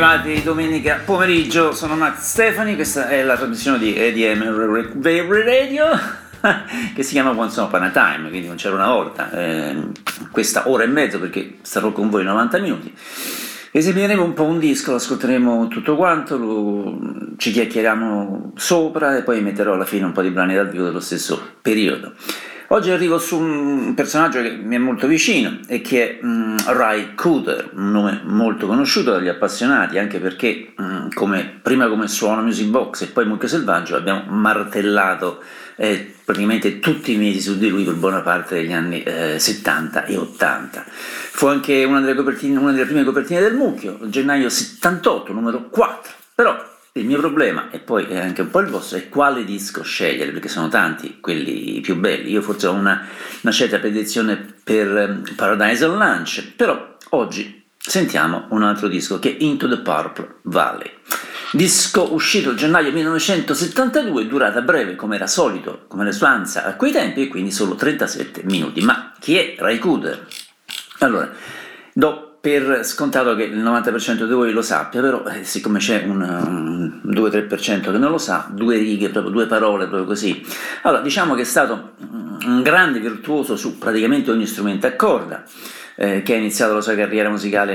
arrivati domenica pomeriggio, sono Max Stefani, questa è la trasmissione di EDM Radio che si chiama Once Upon a Time, quindi non c'era una volta, questa ora e mezzo perché starò con voi 90 minuti. Esibiremo un po' un disco, lo ascolteremo tutto quanto, ci chiacchieriamo sopra e poi metterò alla fine un po' di brani dal vivo dello stesso periodo. Oggi arrivo su un personaggio che mi è molto vicino e che è Ry Cooder, un nome molto conosciuto dagli appassionati, anche perché prima come suono Music Box e poi Mucchio Selvaggio abbiamo martellato praticamente tutti i mesi su di lui per buona parte degli anni 70 e 80. Fu anche una delle prime copertine del Mucchio, gennaio 78, numero 4, però il mio problema, e poi è anche un po' il vostro, è quale disco scegliere, perché sono tanti quelli più belli. Io forse ho una certa predilezione per Paradise on Lunch, però oggi sentiamo un altro disco che è Into the Purple Valley. Disco uscito a gennaio 1972, durata breve come era solito, come la sua ansia a quei tempi, e quindi solo 37 minuti. Ma chi è Ry Cooder? Allora, do per scontato che il 90% di voi lo sappia, però siccome c'è un 2-3% che non lo sa, due righe, proprio due parole, proprio così. Allora, diciamo che è stato un grande virtuoso su praticamente ogni strumento a corda, che ha iniziato la sua carriera musicale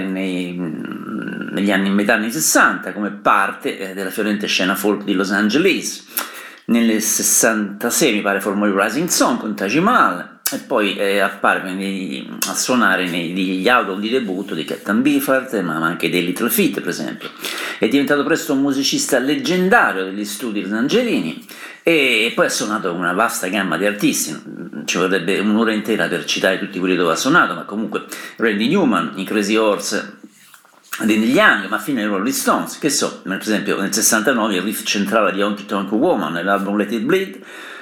negli anni, metà anni 60, come parte della fiorente scena folk di Los Angeles. Nel 66 mi pare formò il Rising Song con Taj Mahal, e poi apparve a suonare negli album di debutto di Captain Beefheart, ma anche dei Little Feat, per esempio. È diventato presto un musicista leggendario degli studi rosangelini e poi ha suonato una vasta gamma di artisti. Ci vorrebbe un'ora intera per citare tutti quelli dove ha suonato, ma comunque Randy Newman, i Crazy Horse di Neil Young, ma fino ai Rolling Stones, che so, per esempio nel 69 il riff centrale di Honky Tonk Woman nell'album Let It Bleed,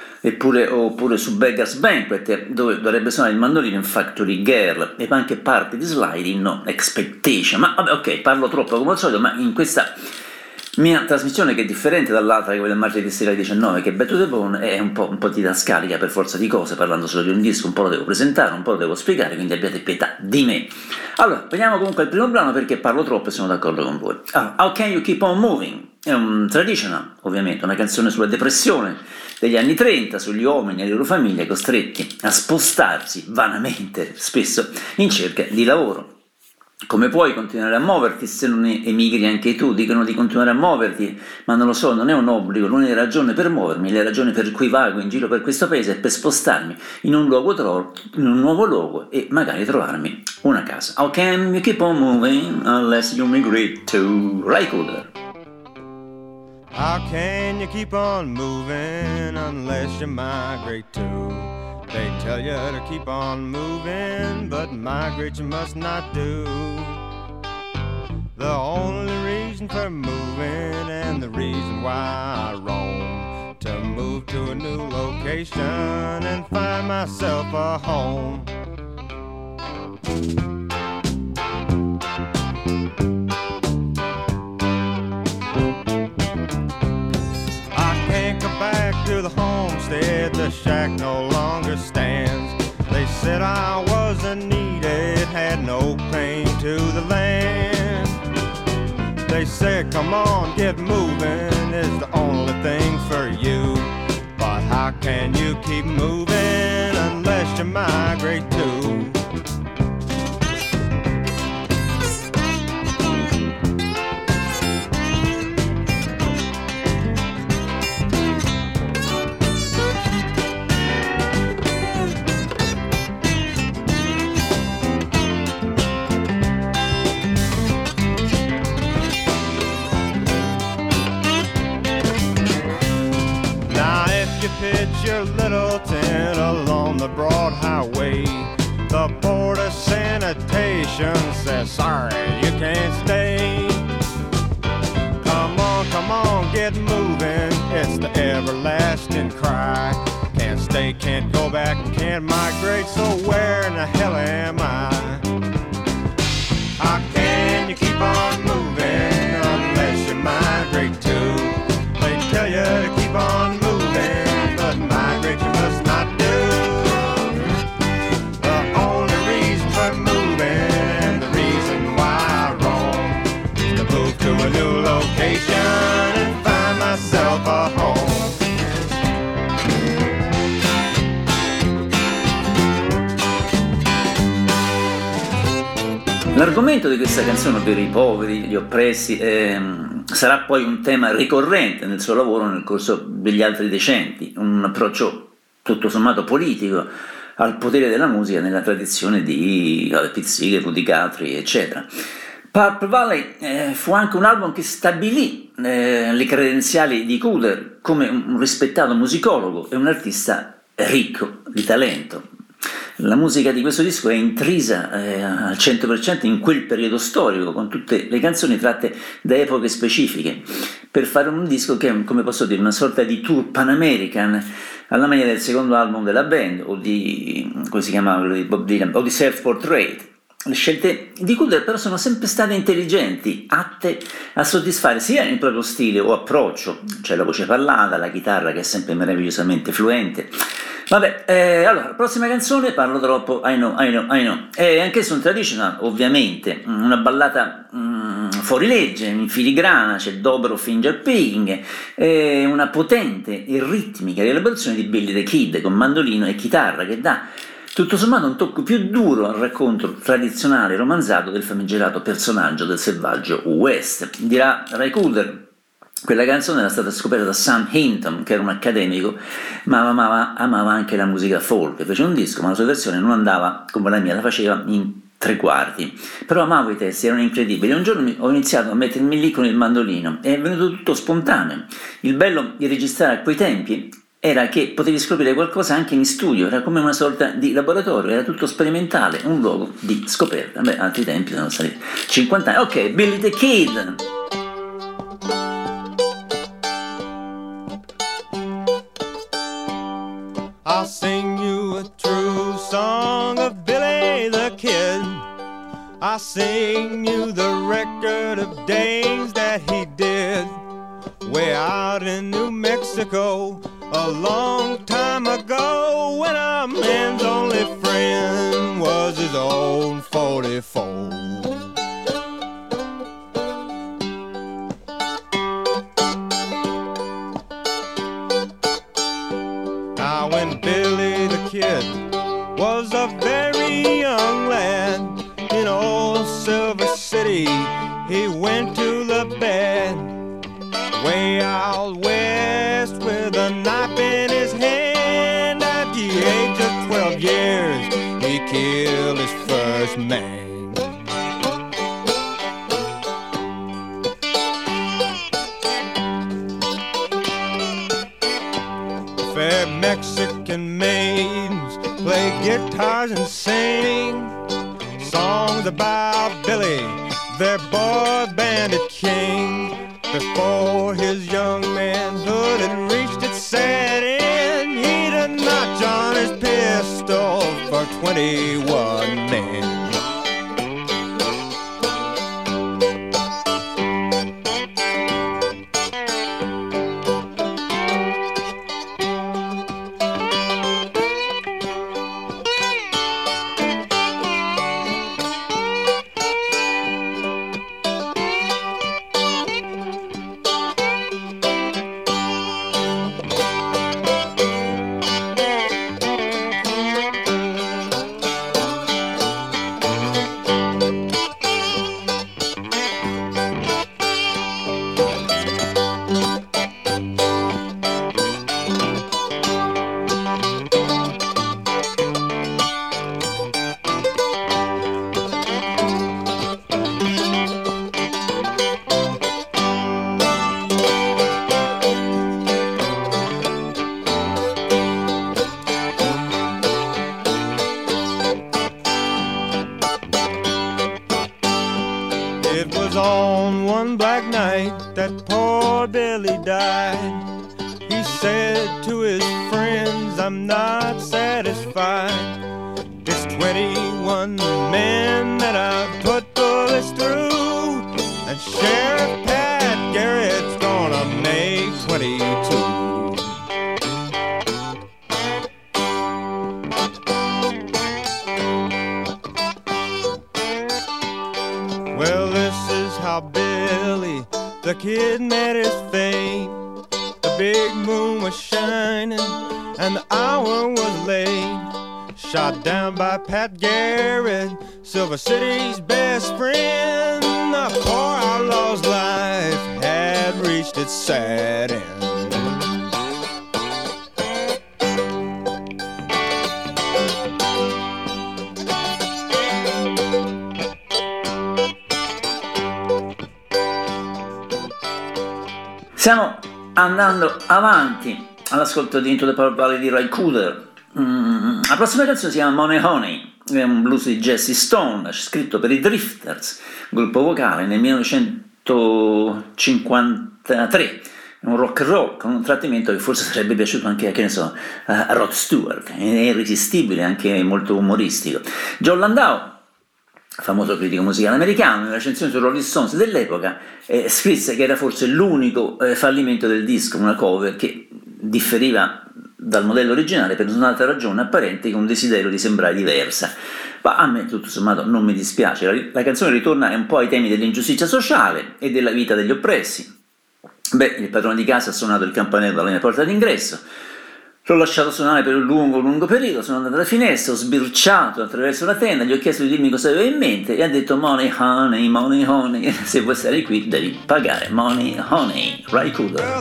oppure su Beggar's Banquet, dove dovrebbe suonare il mandolino in Factory Girl, e anche parte di Sliding No Expectation. Ma vabbè, ok, parlo troppo come al solito, ma in questa mia trasmissione, che è differente dall'altra, che quella del martedì sera alle 19, che è Back to the Bone, è un po' didascalica per forza di cose, parlando solo di un disco, un po' lo devo presentare, un po' lo devo spiegare, quindi abbiate pietà di me. Allora, veniamo comunque al primo brano, perché parlo troppo e sono d'accordo con voi. How Can You Keep On Moving? È un traditional, ovviamente, una canzone sulla depressione degli anni 30, sugli uomini e le loro famiglie costretti a spostarsi vanamente, spesso, in cerca di lavoro. Come puoi continuare a muoverti se non emigri anche tu? Dicono di continuare a muoverti, ma non lo so, non è un obbligo. L'unica ragione per muovermi, la ragione per cui vago in giro per questo paese, è per spostarmi in un nuovo luogo e magari trovarmi una casa. How can you keep on moving unless you migrate to Ry Cooder? How can you keep on moving unless you migrate to? They tell you to keep on moving, but migrate you must not do. The only reason for moving and the reason why I roam, to move to a new location and find myself a home. Back to the homestead, the shack no longer stands. They said I wasn't needed, had no claim to the land. They said, come on, get moving, it's the only thing for you. But how can you keep moving unless you migrate too? Pitch your little tent along the broad highway. The board of sanitation says, sorry, you can't stay. Come on, get moving. It's the everlasting cry. Can't stay, can't go back, can't migrate. So where in the hell am I? How can you keep on moving unless you migrate too? They tell you to keep on moving, but migrate you must not do. The only reason for moving and the reason why I roam is to move to himself a home. L'argomento di questa canzone, ovvero i poveri, gli oppressi, sarà poi un tema ricorrente nel suo lavoro nel corso degli altri decenni, un approccio tutto sommato politico al potere della musica nella tradizione di Pete Seeger, Woody Guthrie, eccetera. Purple Valley fu anche un album che stabilì le credenziali di Cooder come un rispettato musicologo e un artista ricco di talento. La musica di questo disco è intrisa al 100% in quel periodo storico, con tutte le canzoni tratte da epoche specifiche, per fare un disco che è, come posso dire, una sorta di tour pan-american, alla maniera del secondo album della band, o di, come si chiamava, quello di Bob Dylan, o di Self-Portrait. Le scelte di Cooder però sono sempre state intelligenti, atte a soddisfare sia il proprio stile o approccio, cioè la voce parlata, la chitarra che è sempre meravigliosamente fluente. Vabbè, allora, prossima canzone, parlo troppo, I know. È anch'esso un traditional, ovviamente, una ballata fuori legge, in filigrana, c'è il dobro finger picking, una potente e ritmica rielaborazione di Billy the Kid con mandolino e chitarra che dà tutto sommato un tocco più duro al racconto tradizionale romanzato del famigerato personaggio del selvaggio West. Dirà Ray Cooder: quella canzone era stata scoperta da Sam Hinton, che era un accademico, ma amava anche la musica folk. Fece un disco, ma la sua versione non andava come la mia, la faceva in 3/4. Però amavo i testi, erano incredibili. Un giorno ho iniziato a mettermi lì con il mandolino e è venuto tutto spontaneo. Il bello di registrare a quei tempi era che potevi scoprire qualcosa anche in studio, era come una sorta di laboratorio, era tutto sperimentale, un luogo di scoperta. Beh, altri tempi sono stati 50 anni. Ok, Billy the Kid. I'll sing you a true song of Billy the Kid. I'll sing you the record of days that he did way out in New Mexico a long time ago, when a man's only friend was his own 44. Now when Billy the Kid was a very young lad in old Silver City, he went to the bed way out west with a knife in his hand. At the age of 12 years, he killed his first man. Fair Mexican maidens play guitars and sing songs about Billy, their boy bandit king. Before his young manhood had reached its sad end, he'd a notch on his pistol for 21 men. Well, this is how Billy the Kid met his fame. big moon was shining and the hour was late. Shot down by Pat Garrett, Silver City's best friend. The poor outlaw's life had reached its sad end. Stiamo andando avanti all'ascolto di Into the Power Valley di Ry Cooder. La prossima canzone si chiama Money Honey, è un blues di Jesse Stone, scritto per i Drifters, gruppo vocale, nel 1953. È un rock and roll con un trattamento che forse sarebbe piaciuto anche, che ne so, a Rod Stewart, è irresistibile, anche molto umoristico. John Landau, famoso critico musicale americano, nella recensione su Rolling Stones dell'epoca scrisse che era forse l'unico fallimento del disco, una cover che differiva dal modello originale per un'altra ragione apparente che un desiderio di sembrare diversa. Ma a me tutto sommato non mi dispiace, la canzone ritorna un po' ai temi dell'ingiustizia sociale e della vita degli oppressi. Il padrone di casa ha suonato il campanello alla mia porta d'ingresso, l'ho lasciato suonare per un lungo periodo, sono andato alla finestra, ho sbirciato attraverso la tenda, gli ho chiesto di dirmi cosa aveva in mente e ha detto money honey, se vuoi stare qui devi pagare, money honey, Ry Cooder.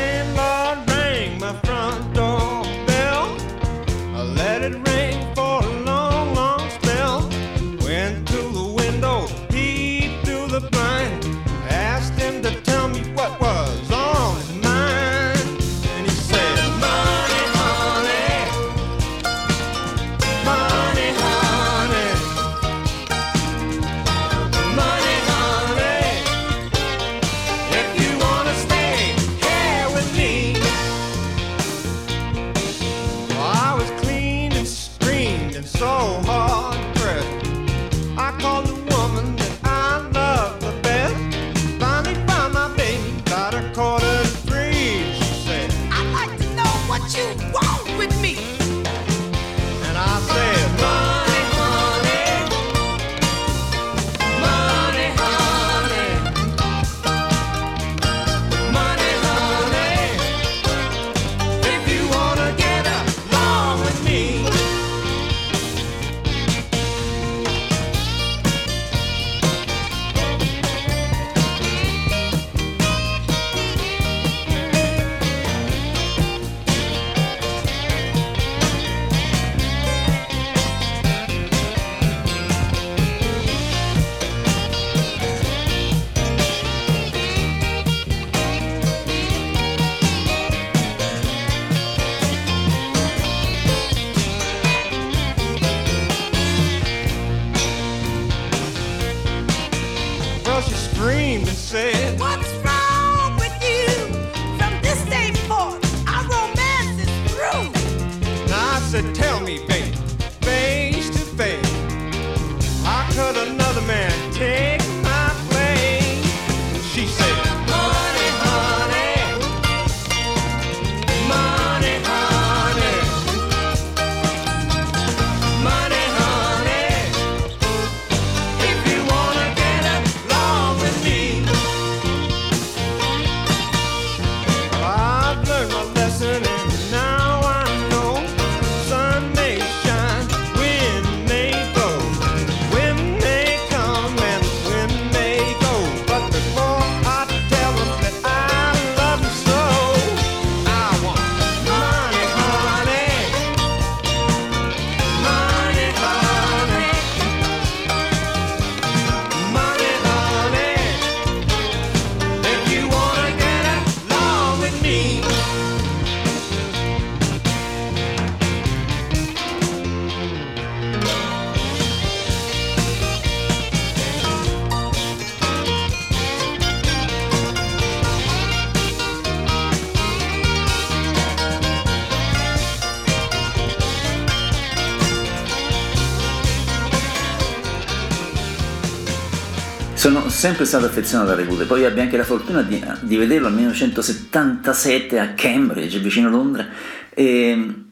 Sono sempre stato affezionato a Ry Cooder, poi ebbi anche la fortuna di vederlo nel 1977 a Cambridge, vicino Londra, e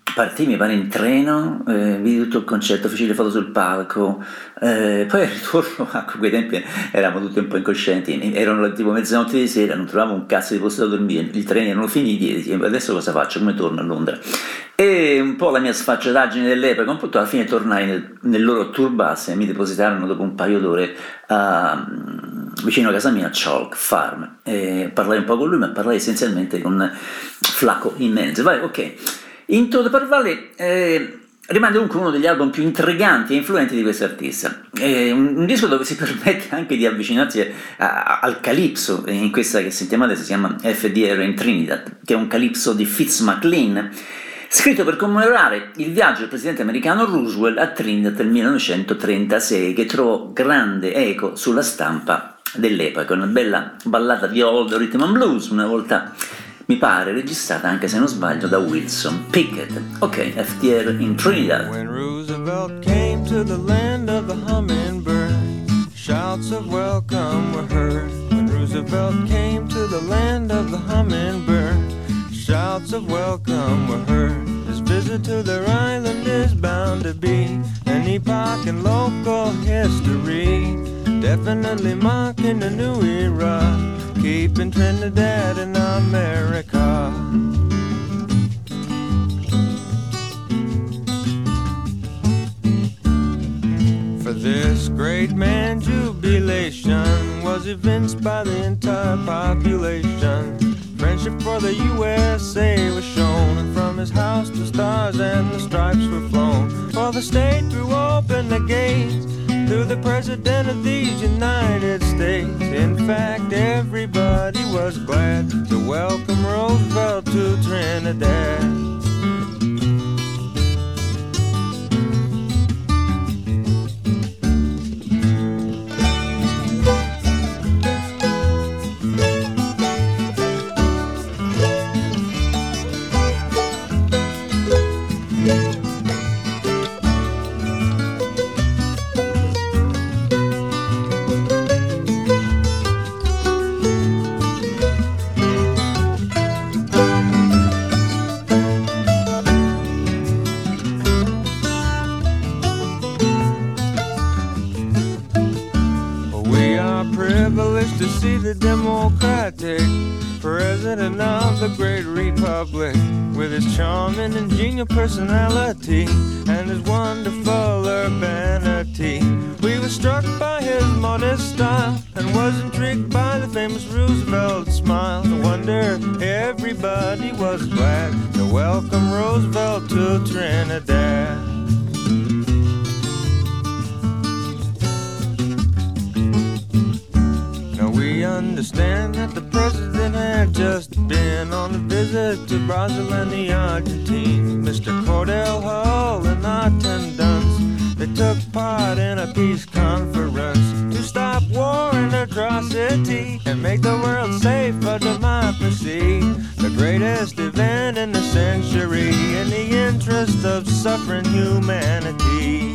partì mi pare in treno, vidi tutto il concerto, feci le foto sul palco, poi al ritorno, a quei tempi eravamo tutti un po' incoscienti, erano tipo mezzanotte di sera, non trovavo un cazzo di posto da dormire, i treni erano finiti e adesso cosa faccio, come torno a Londra? E un po' la mia sfacciataggine dell'epoca, un po' alla fine tornai nel loro tourbus e mi depositarono dopo un paio d'ore vicino a casa mia a Chalk Farm, parlai un po' con lui, ma parlai essenzialmente con Flaco in mezzo. Vai, ok. Into the Parvale rimane dunque uno degli album più intriganti e influenti di questo artista, un disco dove si permette anche di avvicinarsi al calypso, in questa che sentiamo adesso si chiama FDR in Trinidad, che è un calypso di Fitz McLean, scritto per commemorare il viaggio del presidente americano Roosevelt a Trinidad del 1936, che trovò grande eco sulla stampa dell'epoca, una bella ballata di old rhythm and blues, una volta mi pare registrata, anche se non sbaglio, da Wilson Pickett. Ok, FDR in Trinidad. When Roosevelt came to the land of the hummingbird, shouts of welcome were heard. When Roosevelt came to the land of the hummingbird, shouts of welcome were heard. His visit to their island is bound to be an epoch in local history, definitely marking a new era, keeping Trinidad in America. For this great man, jubilation was evinced by the entire population. Friendship for the USA was shown, and from his house the stars and the stripes were flown. For the state threw open the gates to the President of these United States. In fact, everybody was glad to welcome Roosevelt to Trinidad. To see the Democratic President of the great republic, with his charming and genial personality and his wonderful urbanity. We were struck by his modest style and was intrigued by the famous Roosevelt smile. No wonder everybody was glad to welcome Roosevelt to Trinidad. We understand that the president had just been on a visit to Brazil and the Argentine. Mr. Cordell Hull and attendants, they took part in a peace conference to stop war and atrocity and make the world safe for democracy. The greatest event in the century in the interest of suffering humanity.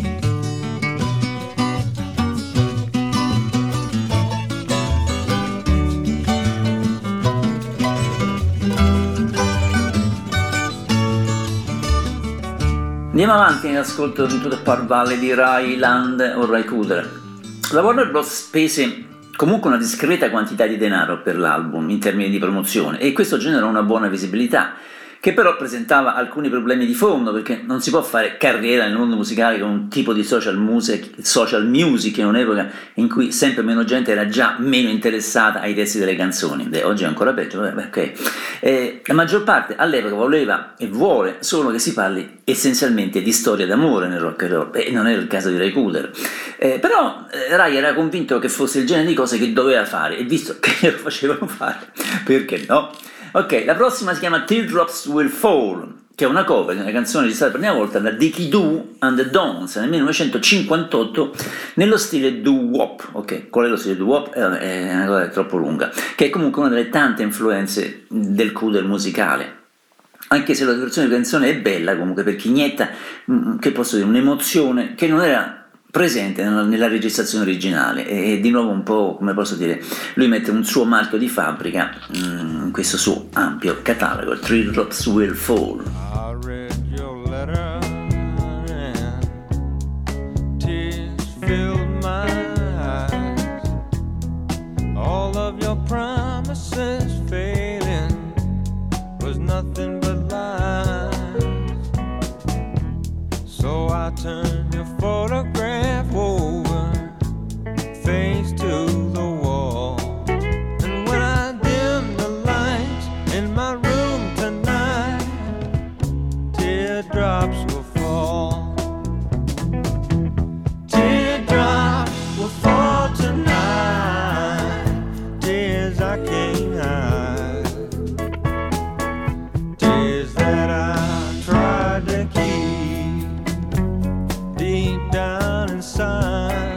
Andiamo avanti nell'ascolto di Into the Parvale di Ray Land o Ray Cooder. La Warner Bros. Spese comunque una discreta quantità di denaro per l'album in termini di promozione e questo generò una buona visibilità, che però presentava alcuni problemi di fondo, perché non si può fare carriera nel mondo musicale con un tipo di social music in un'epoca in cui sempre meno gente era già meno interessata ai testi delle canzoni. Oggi è ancora peggio, ok. La maggior parte all'epoca voleva e vuole solo che si parli essenzialmente di storia d'amore nel rock and roll, e non era il caso di Ray Cooder. Però Ray era convinto che fosse il genere di cose che doveva fare, e visto che lo facevano fare, perché no? Ok, la prossima si chiama Teardrops Will Fall, che è una cover di una canzone registrata per la prima volta da Dickie Doo and the Dons nel 1958 nello stile doo-wop. Ok, qual è lo stile doo-wop? È una cosa troppo lunga, che è comunque una delle tante influenze del Cooder musicale. Anche se la versione di canzone è bella, comunque, perché inietta, che posso dire, un'emozione che non era presente nella registrazione originale, e di nuovo un po', come posso dire, lui mette un suo marchio di fabbrica in questo suo ampio catalogo. Teardrops Will Fall. I read your nothing but lies. So I turn your photograph over, face to the wall. And when I dim the lights in my room tonight, teardrops will fall. Teardrops will fall tonight, tears I can't hide, tears that I tried to keep deep down inside,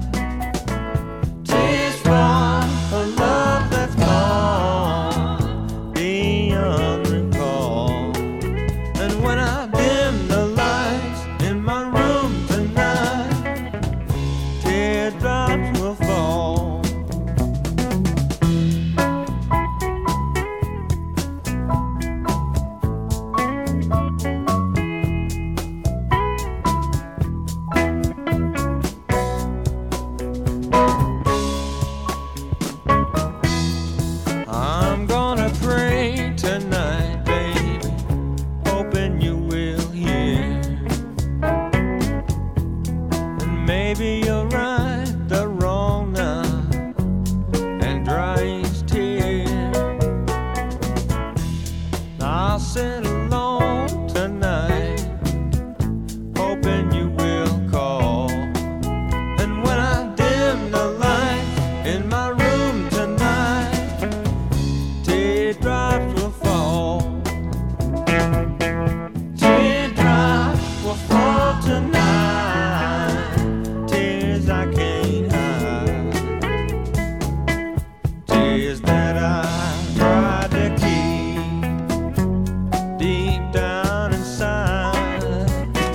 tears for a love that's gone beyond recall. And when I dim the lights in my room tonight, teardrops will fall. I'm gonna pray tonight, baby, hoping you will hear. And maybe you'll right the wrong now and dry each tear. I'll sit alone tonight, hoping you will call. And when I dim the lights in my room tonight, teardrops will fall. Teardrops will fall tonight, tears I can't hide, tears that I tried to keep deep down inside,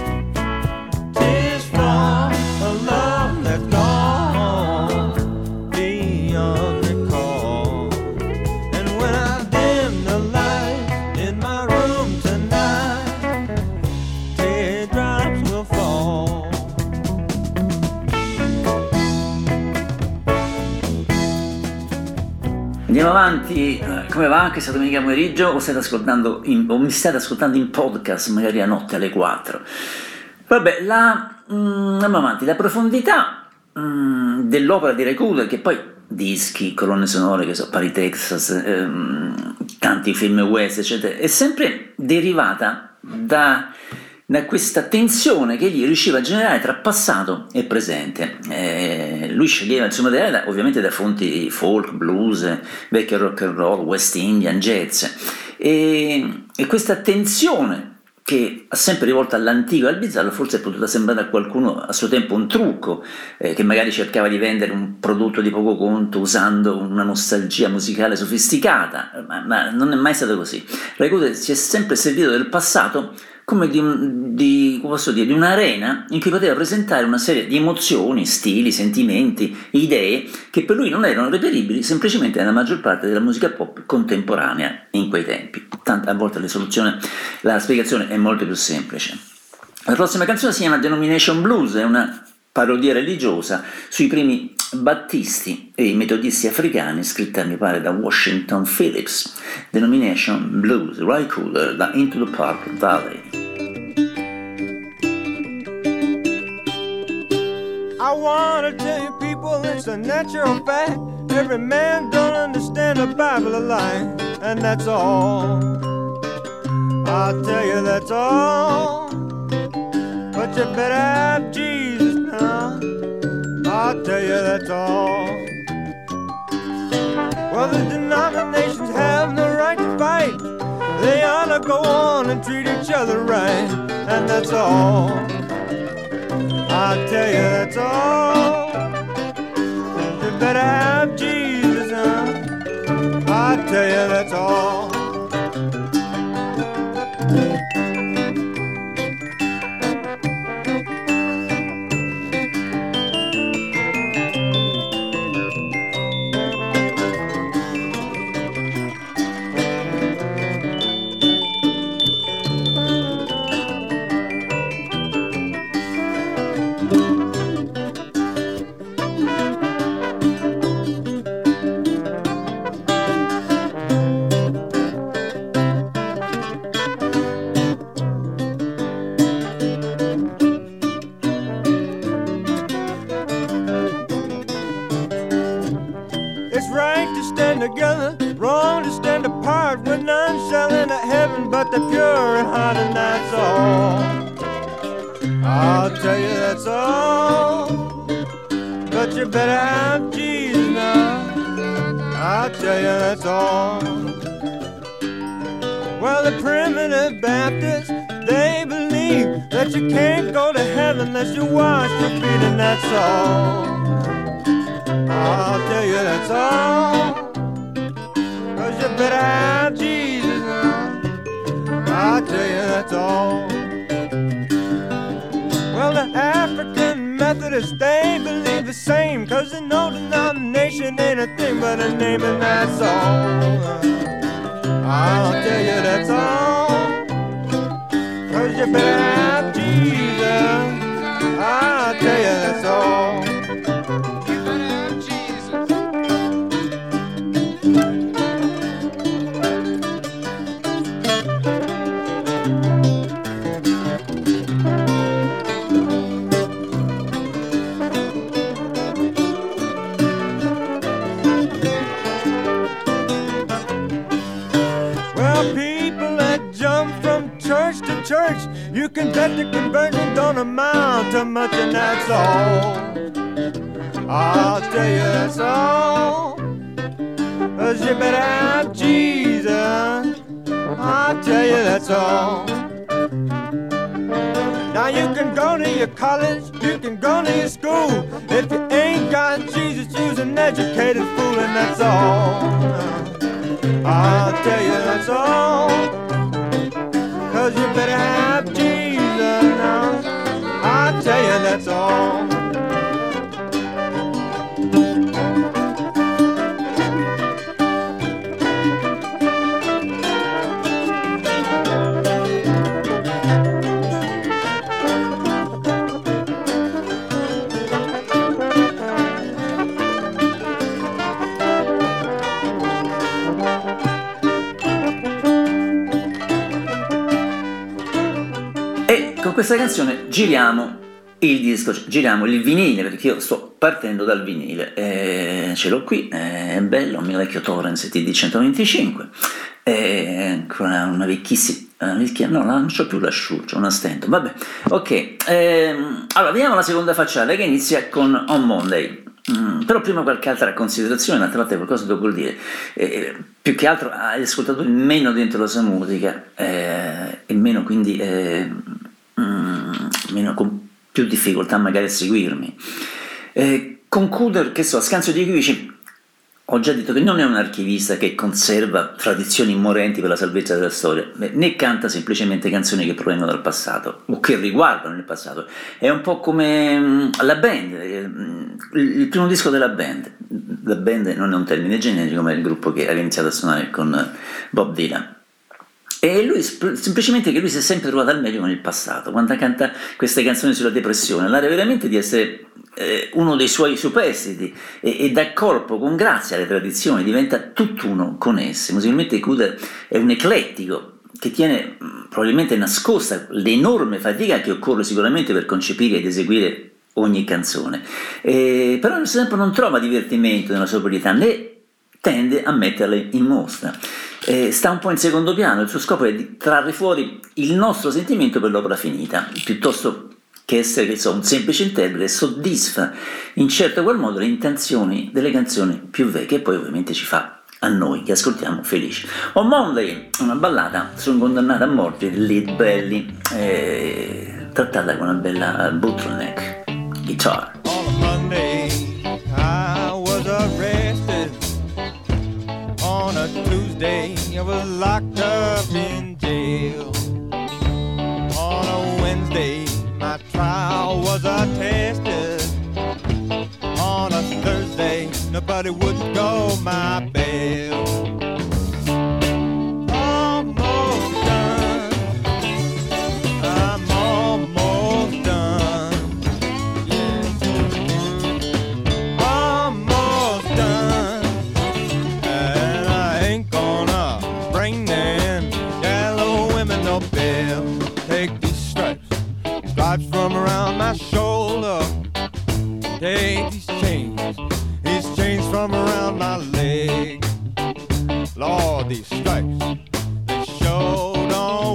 tears for a love that's gone beyond recall. And when I dim the lights in my room tonight, teardrops will fall. Andiamo avanti, come va anche questa domenica pomeriggio o state ascoltando o mi state ascoltando in podcast magari a notte alle 4? Vabbè, andiamo avanti, la profondità dell'opera di Ray Cooder, che poi dischi, colonne sonore, che so, Paris, Texas, tanti film west, eccetera, è sempre derivata da questa tensione che egli riusciva a generare tra passato e presente. Lui sceglieva il suo materiale ovviamente da fonti folk, blues, vecchio rock and roll, West Indian, jazz, e questa tensione che ha sempre rivolto all'antico e al bizzarro forse è potuta sembrare a qualcuno a suo tempo un trucco, che magari cercava di vendere un prodotto di poco conto usando una nostalgia musicale sofisticata, ma non è mai stato così. Ray Cooder si è sempre servito del passato come di un'arena in cui poteva presentare una serie di emozioni, stili, sentimenti, idee che per lui non erano reperibili semplicemente nella maggior parte della musica pop contemporanea in quei tempi. A volte la spiegazione è molto più semplice. La prossima canzone si chiama Denomination Blues, è una parodia religiosa sui primi battisti e i metodisti africani, scritta mi pare da Washington Phillips. Denomination Blues, Ray Cooder, da Into the Park Valley. I wanna tell you people it's a natural fact. Every man don't understand the Bible alike, and that's all. I'll tell you that's all. But you better have Jesus now. I'll tell you that's all. Well, the denominations have no right to fight. They ought to go on and treat each other right, and that's all. I'll tell you that's all. You better have Jesus, huh? I'll tell you that's all. they're pure and hot, and that's all. I'll tell you that's all. But you better have Jesus now. I'll tell you that's all. Well, the primitive Baptists, they believe that you can't go to heaven unless you wash your feet, and that's all. I'll tell you that's all. 'Cause you better have Jesus now. I'll tell you that's all. Well, the African Methodists, they believe the same, 'cause they know denomination ain't a thing but a name, and that's all. I'll tell you that's all. 'Cause you better have Jesus. I'll tell you that's all. You better have Jesus. Church, you can bet the conversion don't amount to much, and that's all. I'll tell you that's all. 'Cause you better have Jesus. I'll tell you that's all. Now you can go to your college, you can go to your school. If you ain't got Jesus, you's an educated fool, and that's all. I'll tell you that's all. 'Cause you better have Jesus now. I'll tell you that's all. Con questa canzone giriamo il disco, giriamo il vinile, perché io sto partendo dal vinile, ce l'ho qui, è bello, un mio vecchio Torrens TD 125, ancora una vecchissima, no, non c'ho più l'asciugo, una stento, vabbè, ok, allora vediamo la seconda facciata che inizia con On Monday. Però prima qualche altra considerazione, d'altra parte qualcosa devo dire, più che altro agli ascoltatori meno dentro la sua musica e meno quindi meno con più difficoltà magari a seguirmi. Concludo, che so, a scanso di equivoci, ho già detto che non è un archivista che conserva tradizioni immorenti per la salvezza della storia, né canta semplicemente canzoni che provengono dal passato o che riguardano il passato. È un po' come la band, il primo disco della band. La band non è un termine generico, ma è il gruppo che ha iniziato a suonare con Bob Dylan. E lui, semplicemente che lui si è sempre trovato al meglio con il passato, quando canta queste canzoni sulla depressione, l'area veramente di essere uno dei suoi superstiti e dà corpo con grazia alle tradizioni, diventa tutt'uno con esse. Musicalmente Cooder è un eclettico che tiene probabilmente nascosta l'enorme fatica che occorre sicuramente per concepire ed eseguire ogni canzone, però nel tempo non trova divertimento nella sobrietà, né tende a metterle in mostra. Sta un po' in secondo piano, il suo scopo è di trarre fuori il nostro sentimento per l'opera finita, piuttosto che essere un semplice interprete, soddisfa in certo qual modo le intenzioni delle canzoni più vecchie e poi ovviamente ci fa a noi che ascoltiamo felici. On Monday, una ballata su un condannato a morte, Lead Belly, trattata con una bella bottleneck guitar. On Monday I was arrested. On a Tuesday I was locked up in jail. On a Wednesday my trial was attested. On a Thursday nobody would go my bail. Almost done, I'm almost done, yeah. Almost done, and I ain't gonna bring them yellow women no bill. Take these stripes from around my shoulder. Take these chains from around my leg. Lord, these stripes, they sure don't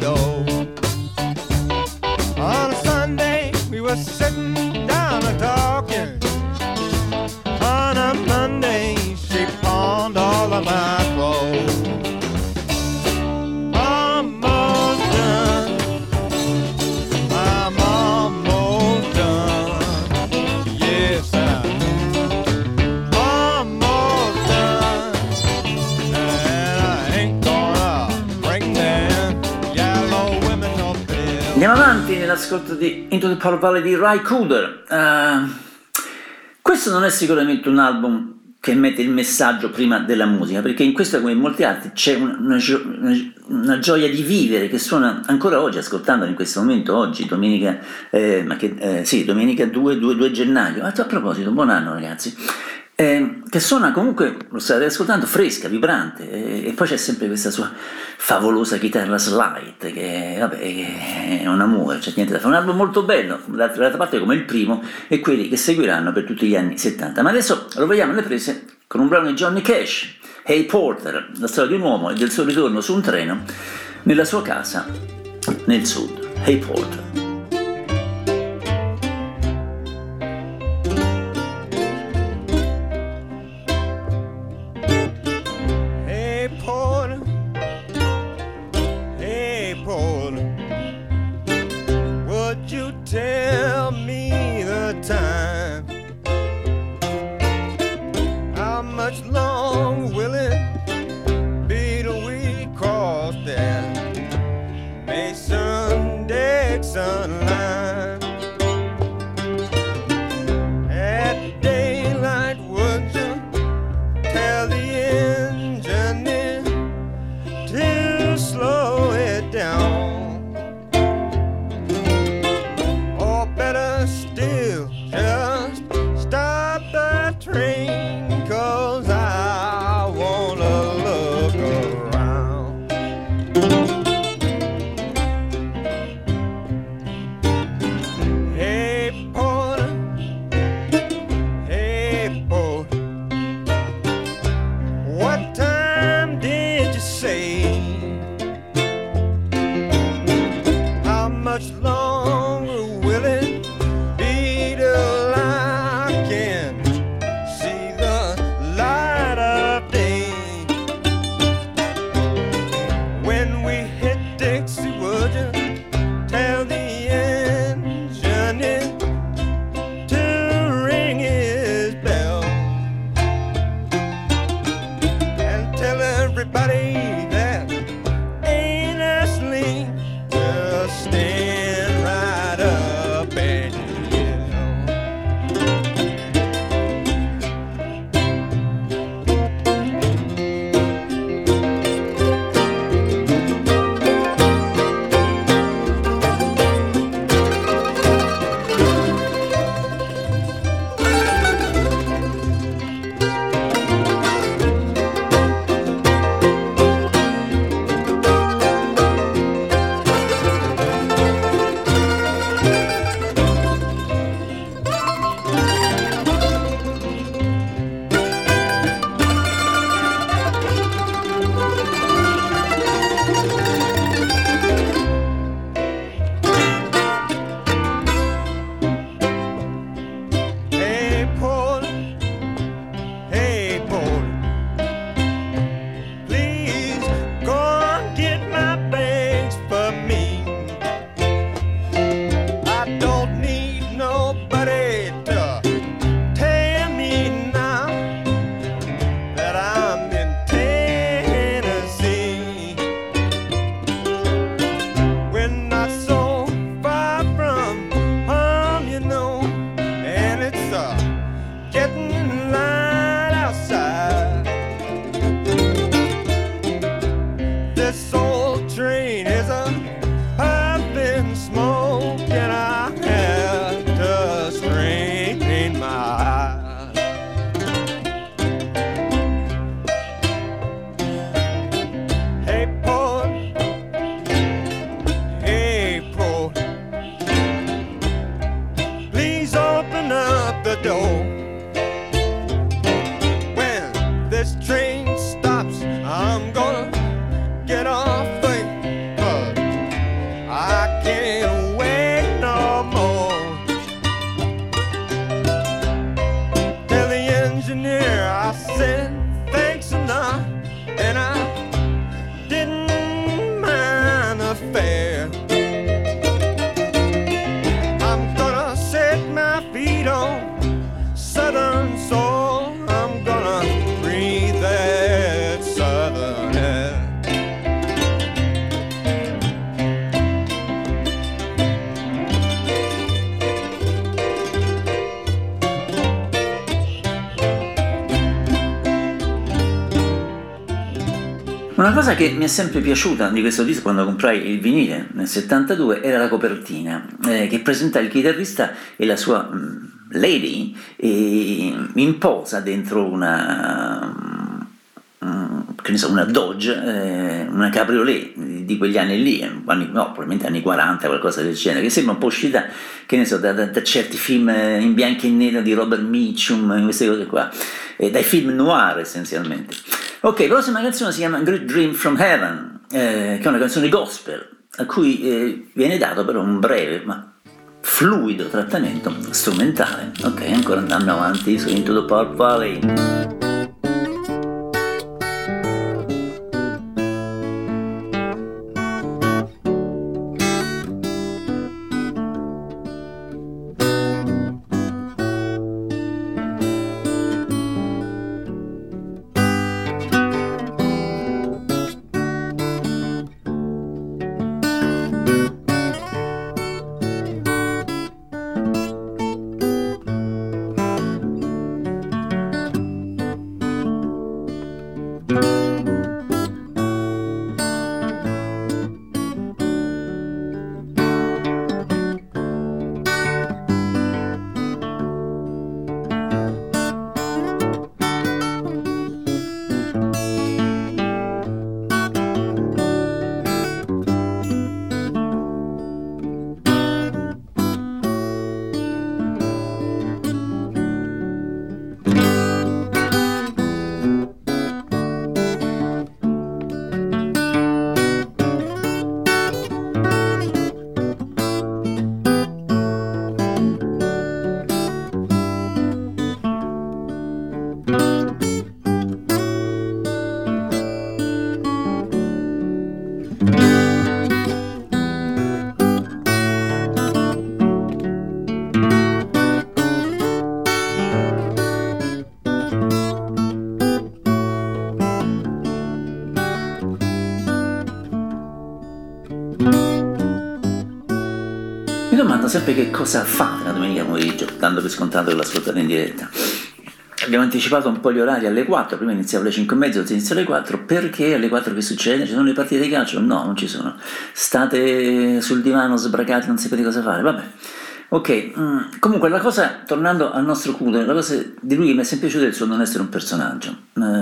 door. On a Sunday, we were sitting down and talking. On a Monday, she pawned all of my clothes. Almost done. I'm almost done. Yes, I'm almost done. And I ain't gonna bring them yellow women no bill. Andiamo avanti nell'ascolto di Into the Power Valley di Ry Cooder. Questo non è sicuramente un album che mette il messaggio prima della musica, perché in questo, come in molti altri, c'è una gioia di vivere che suona ancora oggi, ascoltandolo in questo momento, oggi, domenica, domenica 2 gennaio. A proposito, buon anno ragazzi. Che suona comunque, lo state ascoltando, fresca, vibrante, e poi c'è sempre questa sua favolosa chitarra slide che è un amore, c'è niente da fare. Un album molto bello, d'altra parte come il primo e quelli che seguiranno per tutti gli anni 70. Ma adesso lo vediamo alle prese con un brano di Johnny Cash, Hey Porter, la storia di un uomo e del suo ritorno su un treno nella sua casa nel sud. Hey Porter. Tell me the time. How much long will it be till we cross that Mason-Dixon line? At daylight, would you tell the engineer to slow it down? Still, just stop the train, 'cause I wanna look around. Hey porter, what time did you say? How much longer will it Una cosa che mi è sempre piaciuta di questo disco quando comprai il vinile nel 72 era la copertina, che presenta il chitarrista e la sua lady in posa dentro una Dodge, una cabriolet di quegli anni lì, probabilmente anni 40, qualcosa del genere, che sembra un po' uscita, che ne so, da certi film in bianco e nero di Robert Mitchum, queste cose qua, dai film noir essenzialmente. Ok, la prossima canzone si chiama Great Dream from Heaven, che è una canzone gospel, a cui viene dato però un breve ma fluido trattamento strumentale. Ok, ancora andando avanti su Into the Park Valley. Mi domando sempre che cosa fate la domenica pomeriggio, dando per scontato che l'ascoltate in diretta. Abbiamo anticipato un po' gli orari alle 4, prima iniziava alle 5:30, ora inizia alle 4, perché alle 4 che succede? Ci sono le partite di calcio? No, non ci sono. State sul divano sbracati, non sapete cosa fare, vabbè. Ok, comunque la cosa, tornando al nostro Cooder, la cosa di lui che mi è sempre piaciuta è il suo non essere un personaggio.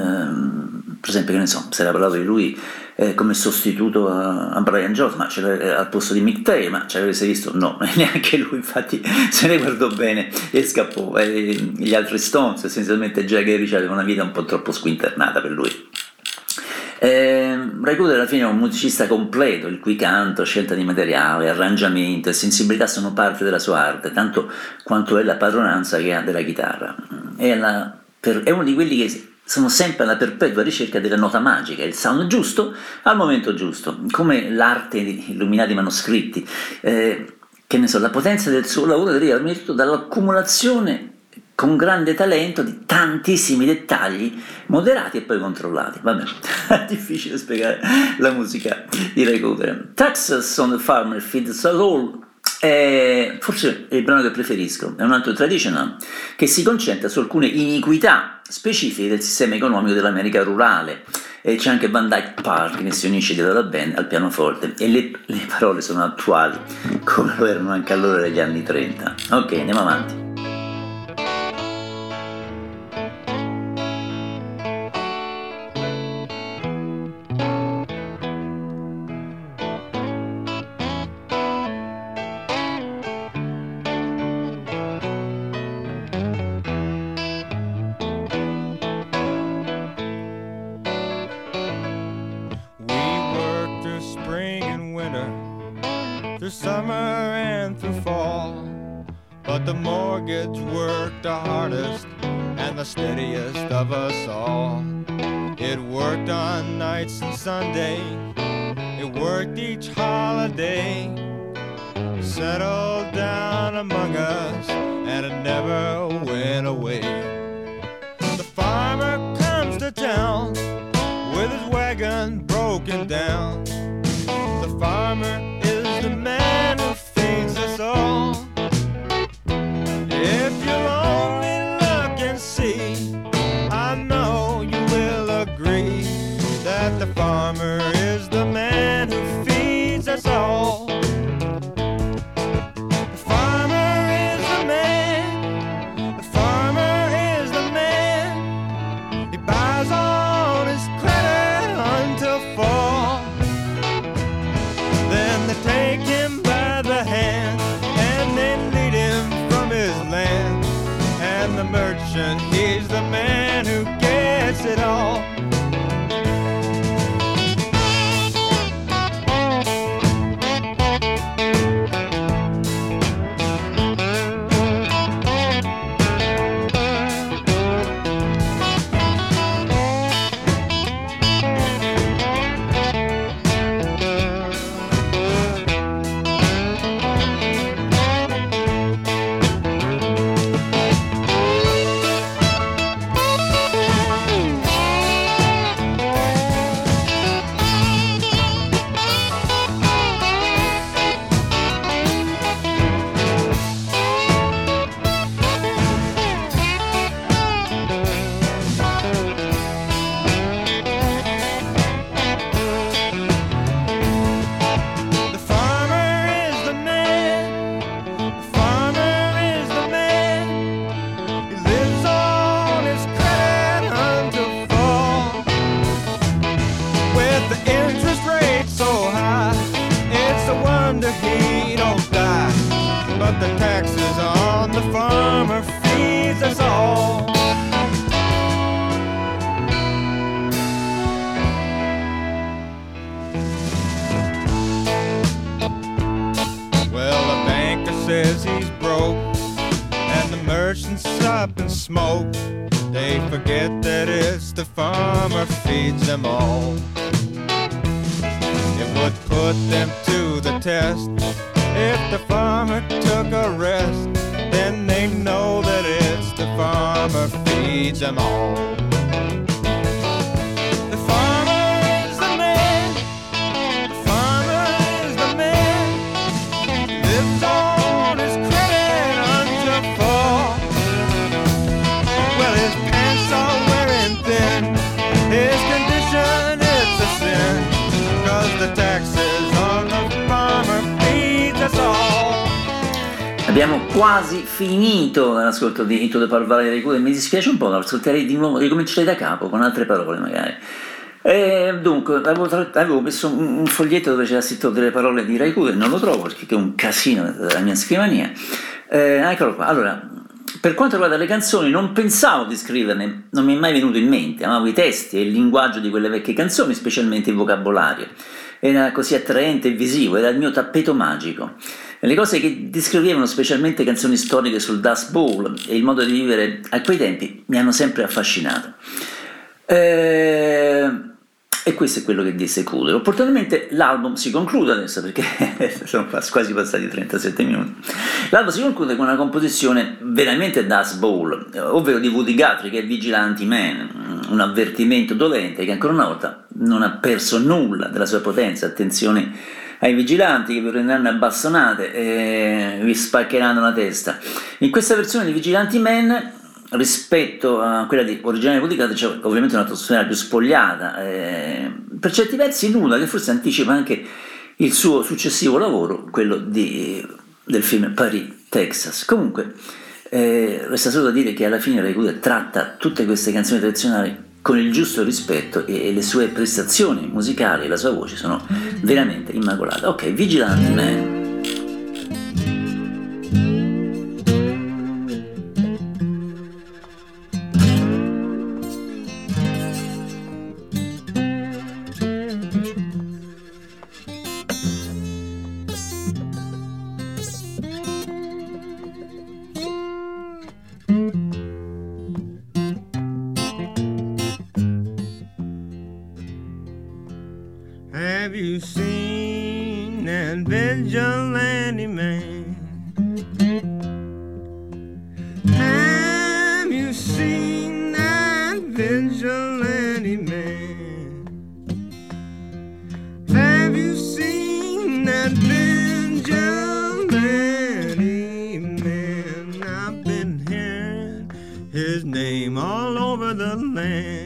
Per esempio, che ne so, si era parlato di lui come sostituto a Brian Jones, ma al posto di Mick Taylor, ma ci avete visto? No, neanche lui, infatti se ne guardò bene e scappò. Gli altri Stones, essenzialmente Jagger e Richard, avevano una vita un po' troppo squinternata per lui. Ray Cooder alla fine è un musicista completo, il cui canto, scelta di materiale, arrangiamento e sensibilità sono parte della sua arte, tanto quanto è la padronanza che ha della chitarra. È uno di quelli che sono sempre alla perpetua ricerca della nota magica, il sound giusto al momento giusto, come l'arte di illuminati manoscritti. Che ne so, la potenza del suo lavoro deriva prima di tutto dall'accumulazione con grande talento di tantissimi dettagli moderati e poi controllati. Vabbè, è difficile spiegare la musica di Ray Cooder. Texas on the Farmer Feeds Us All è forse il brano che preferisco, è un altro traditional che si concentra su alcune iniquità specifiche del sistema economico dell'America rurale, e c'è anche Van Dyke Park che si unisce dietro la band al pianoforte, e le parole sono attuali come lo erano anche allora negli anni 30. Ok, andiamo avanti. Through summer and through fall, but the mortgage worked the hardest and the steadiest of us all. It worked on nights and Sunday, it worked each holiday, settled down among us and it never went away. The farmer comes to town with his wagon broken down. The farmer is the man who feeds us all. If you'll only look and see, I know you will agree that the farmer wonder he don't die. But the taxes on the farmer feeds us all. Well, the banker says he's broke, and the merchants up and smoke. They forget that it's the farmer feeds them all. It would put them to the test if the farmer took a rest. Then they know that it's the farmer feeds them all. The farmer is the man. The farmer is the man. Lives on his credit until fall. Well, his pants are wearing thin. His condition is a sin. 'Cause the taxes on the farmer feeds us all. Abbiamo quasi finito l'ascolto di Into the Power Valley dei Cure. Mi dispiace un po', lo ascolterei di nuovo, ricomincerei da capo con altre parole magari. Dunque, avevo messo un foglietto dove c'era scritto delle parole di Ray Cooder, non lo trovo perché è un casino della mia scrivania. Eccolo qua. Allora, per quanto riguarda le canzoni, non pensavo di scriverne, non mi è mai venuto in mente. Amavo i testi e il linguaggio di quelle vecchie canzoni, specialmente il vocabolario. Era così attraente e visivo, era il mio tappeto magico. E le cose che descrivevano, specialmente canzoni storiche sul Dust Bowl e il modo di vivere a quei tempi, mi hanno sempre affascinato. E questo è quello che disse Cooder. Opportunamente l'album si conclude adesso, perché sono quasi passati 37 minuti. L'album si conclude con una composizione veramente Dust Bowl, ovvero di Woody Guthrie, che è Vigilante Man, un avvertimento dolente che ancora una volta non ha perso nulla della sua potenza. Attenzione ai vigilanti che vi prenderanno a bastonate e vi spaccheranno la testa. In questa versione di Vigilante Man, rispetto a quella di originale Woody Guthrie, c'è ovviamente un'atmosfera più spogliata, per certi versi nuda, che forse anticipa anche il suo successivo lavoro, quello del film Paris, Texas. Comunque resta solo da dire che alla fine Ray Cooder tratta tutte queste canzoni tradizionali con il giusto rispetto e le sue prestazioni musicali e la sua voce sono veramente immacolate. Ok, Vigilante Man. Have you seen that vigilante man? Have you seen that vigilante man? Have you seen that vigilante man? I've been hearing his name all over the land.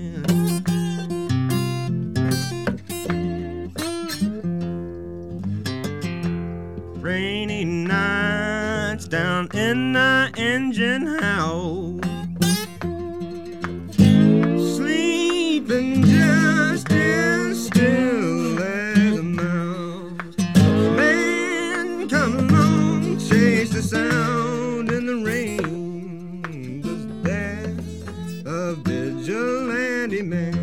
Rainy nights down in the engine house, sleeping just as still as a mouse. Man, come along, chase the sound in the rain, 'cause that's a vigilante man.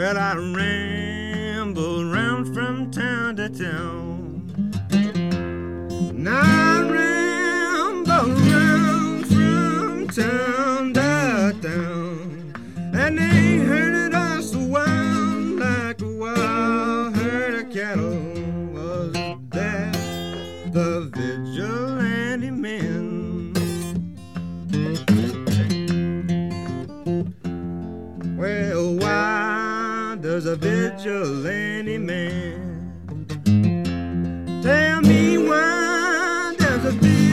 Well, I ramble round from town to town. And I ramble round from town to town. And they herded us wild like a wild herd of cattle. Was that the vigilante men? Well, why does a vigilante man? Tell me, why does a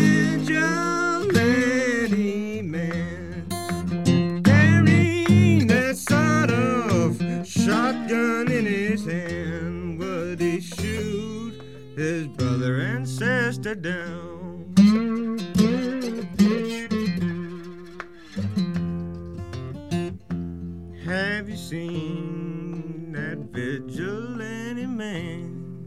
vigilante man carry that sort of shotgun in his hand? Would he shoot his brother and sister down? Have you seen that vigilante man?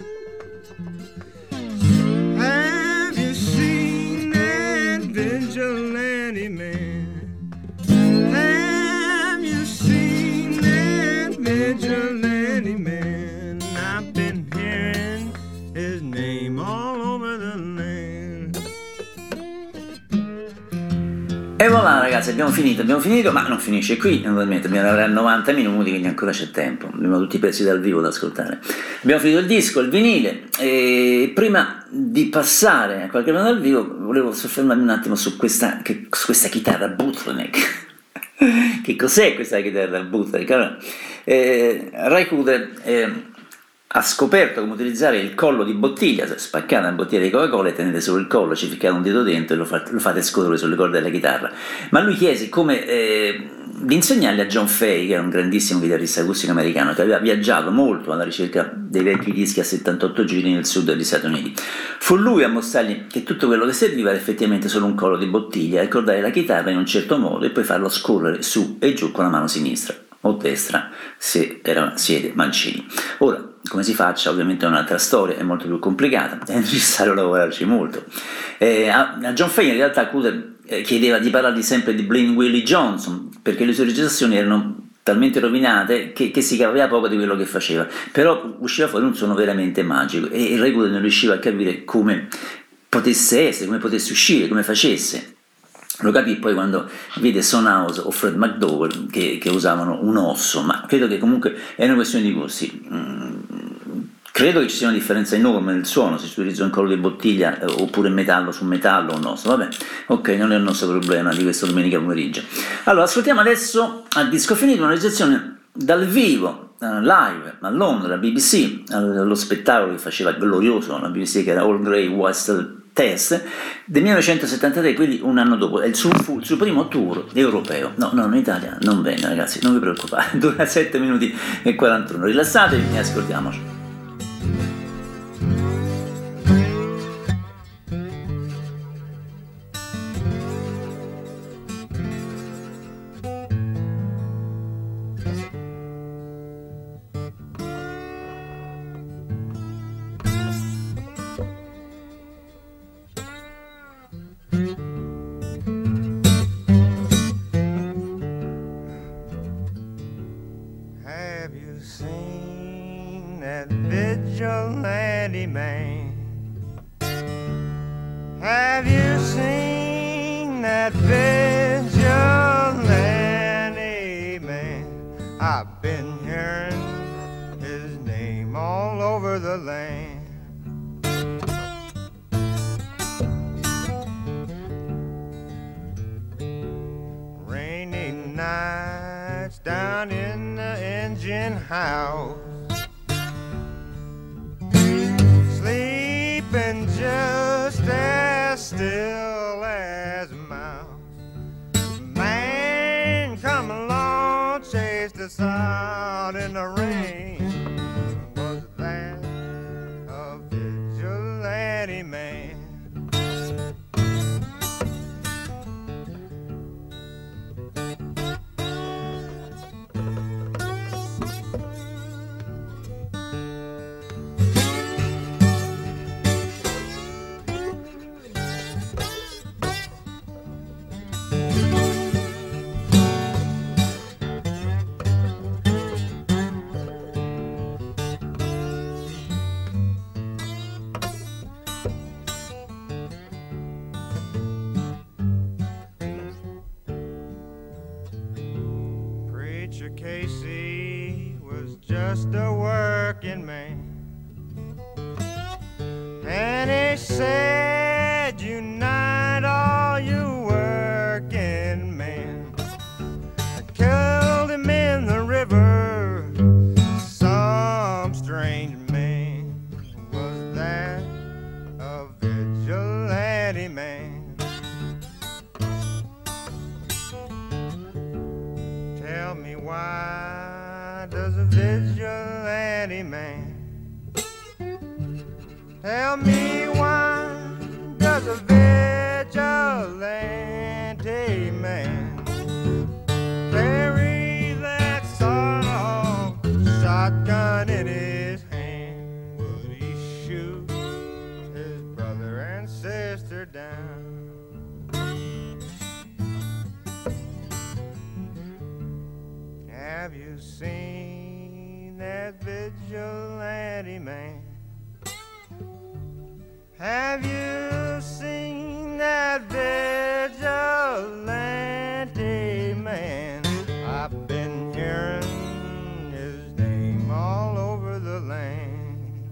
Have you seen that vigilante man? Have you seen that vigilante man? I've been hearing his name all over the land. E voilà ragazzi, abbiamo finito, ma non finisce qui, naturalmente, dobbiamo lavorare 90 minuti, quindi ancora c'è tempo, abbiamo tutti i pezzi dal vivo da ascoltare. Abbiamo finito il disco, il vinile, e prima di passare a qualche brano dal vivo volevo soffermarmi un attimo su questa chitarra bootleg. Che cos'è questa chitarra bootleg? Allora, Ry Cooder ha scoperto come utilizzare il collo di bottiglia, spaccare una bottiglia di Coca-Cola e tenere solo il collo, ci ficcare un dito dentro e lo fate scorrere sulle corde della chitarra. Ma lui chiese come di insegnarli a John Fay, che era un grandissimo chitarrista acustico americano che aveva viaggiato molto alla ricerca dei vecchi dischi a 78 giri nel sud degli Stati Uniti. Fu lui a mostrargli che tutto quello che serviva era effettivamente solo un collo di bottiglia, ricordare la chitarra in un certo modo e poi farlo scorrere su e giù con la mano sinistra o destra se siete mancini. Ora, come si faccia ovviamente è un'altra storia, è molto più complicata, è necessario lavorarci molto. A John Fay in realtà Cooder chiedeva di parlargli sempre di Blind Willie Johnson, perché le sue registrazioni erano talmente rovinate che si capiva poco di quello che faceva, però usciva fuori un suono veramente magico e il Ry Cooder non riusciva a capire come potesse essere, come potesse uscire, come facesse. Lo capì poi quando vide Son House o Fred McDowell che usavano un osso, ma credo che comunque è una questione di gusti. Credo che ci sia una differenza enorme nel suono se si utilizza un collo di bottiglia oppure metallo su metallo o un osso. Vabbè, ok, non è il nostro problema di questa domenica pomeriggio. Allora, ascoltiamo adesso a disco finito una registrazione dal vivo, live a Londra, BBC, allo spettacolo che faceva glorioso la BBC, che era All Grey Whistle Test del 1973, quindi un anno dopo. È il suo primo tour europeo. No, in Italia non venne, ragazzi, non vi preoccupate, dura 7 minuti e 41. Rilassatevi e ascoltiamoci. Vigilante man, have you seen that vigilante man? I've been hearing his name all over the land. Rainy nights down in the engine house, sleeping just as still as a mouse. Man, come along, chased us out in the rain. Was that a vigilante man? Preacher Casey was just a working man, and he said, unite all you working men. I killed him in the river. Some strange man was that, a vigilante man. Tell me, why does a vigilante man? Tell me, why does a vigilante man carry that sawed-off shotgun in his hand? Would he shoot his brother and sister down? Have you seen that vigilante man? Have you seen that vigilante man? I've been hearing his name all over the land.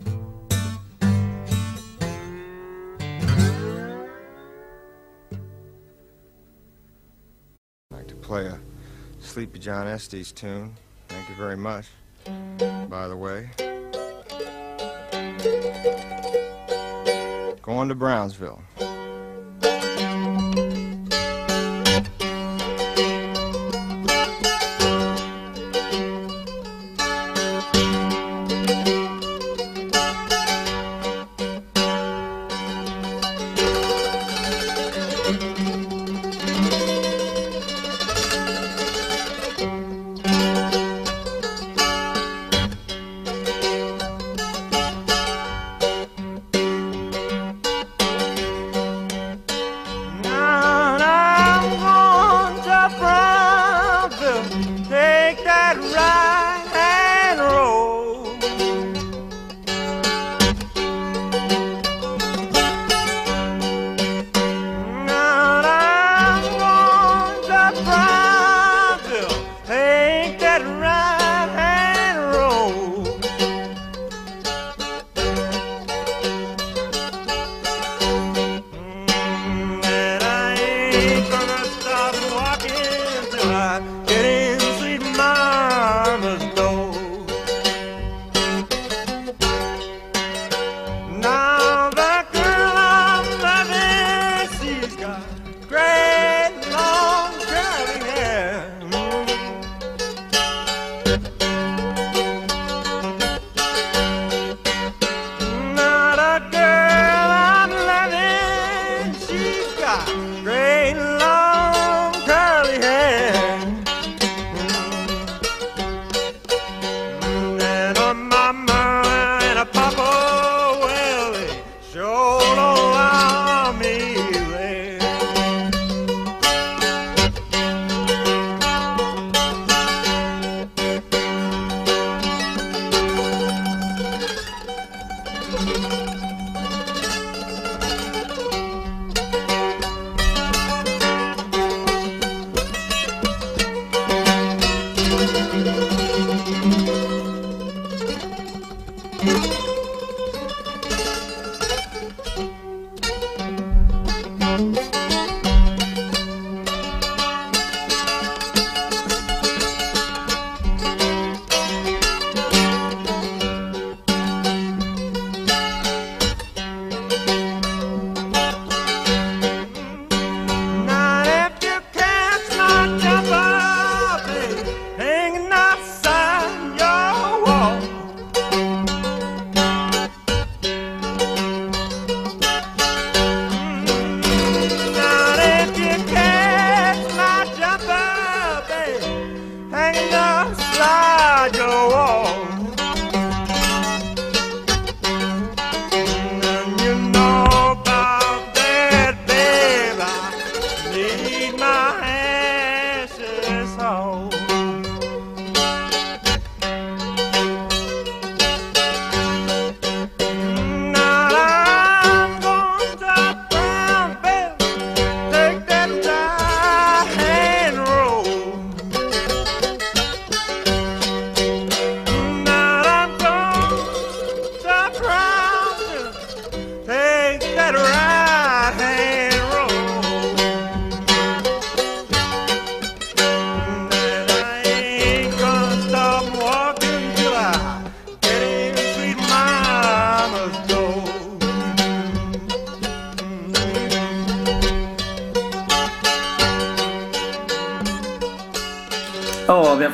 I'd like to play a Sleepy John Estes tune. Thank you very much, by the way. Going to Brownsville.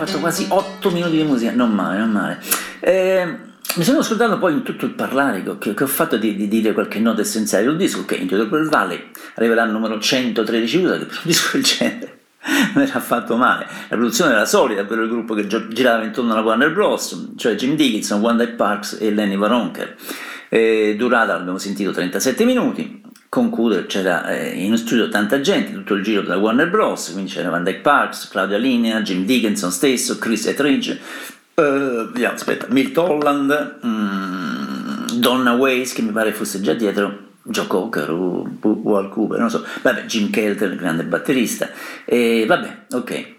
fatto quasi 8 minuti di musica, non male, non male. Mi sono scordato poi in tutto il parlare che ho fatto di dire qualche nota essenziale di un disco che Into the Pearl Valley arriverà al numero 113 che per un disco del genere non era affatto male. La produzione era solida per il gruppo che girava intorno alla Warner Bros., cioè Jim Dickinson, Wanda Parks e Lenny Waronker. Durata, l'abbiamo sentito, 37 minuti. Conclude, c'era in studio tanta gente, tutto il giro della Warner Bros., quindi c'era Van Dyke Parks, Claudia Linea, Jim Dickinson stesso, Chris Etheridge, Milt Holland, Donna Weiss, che mi pare fosse già dietro, Joe Cocker o Wal Cooper, non so, vabbè, Jim Kelter, il grande batterista, e vabbè, ok.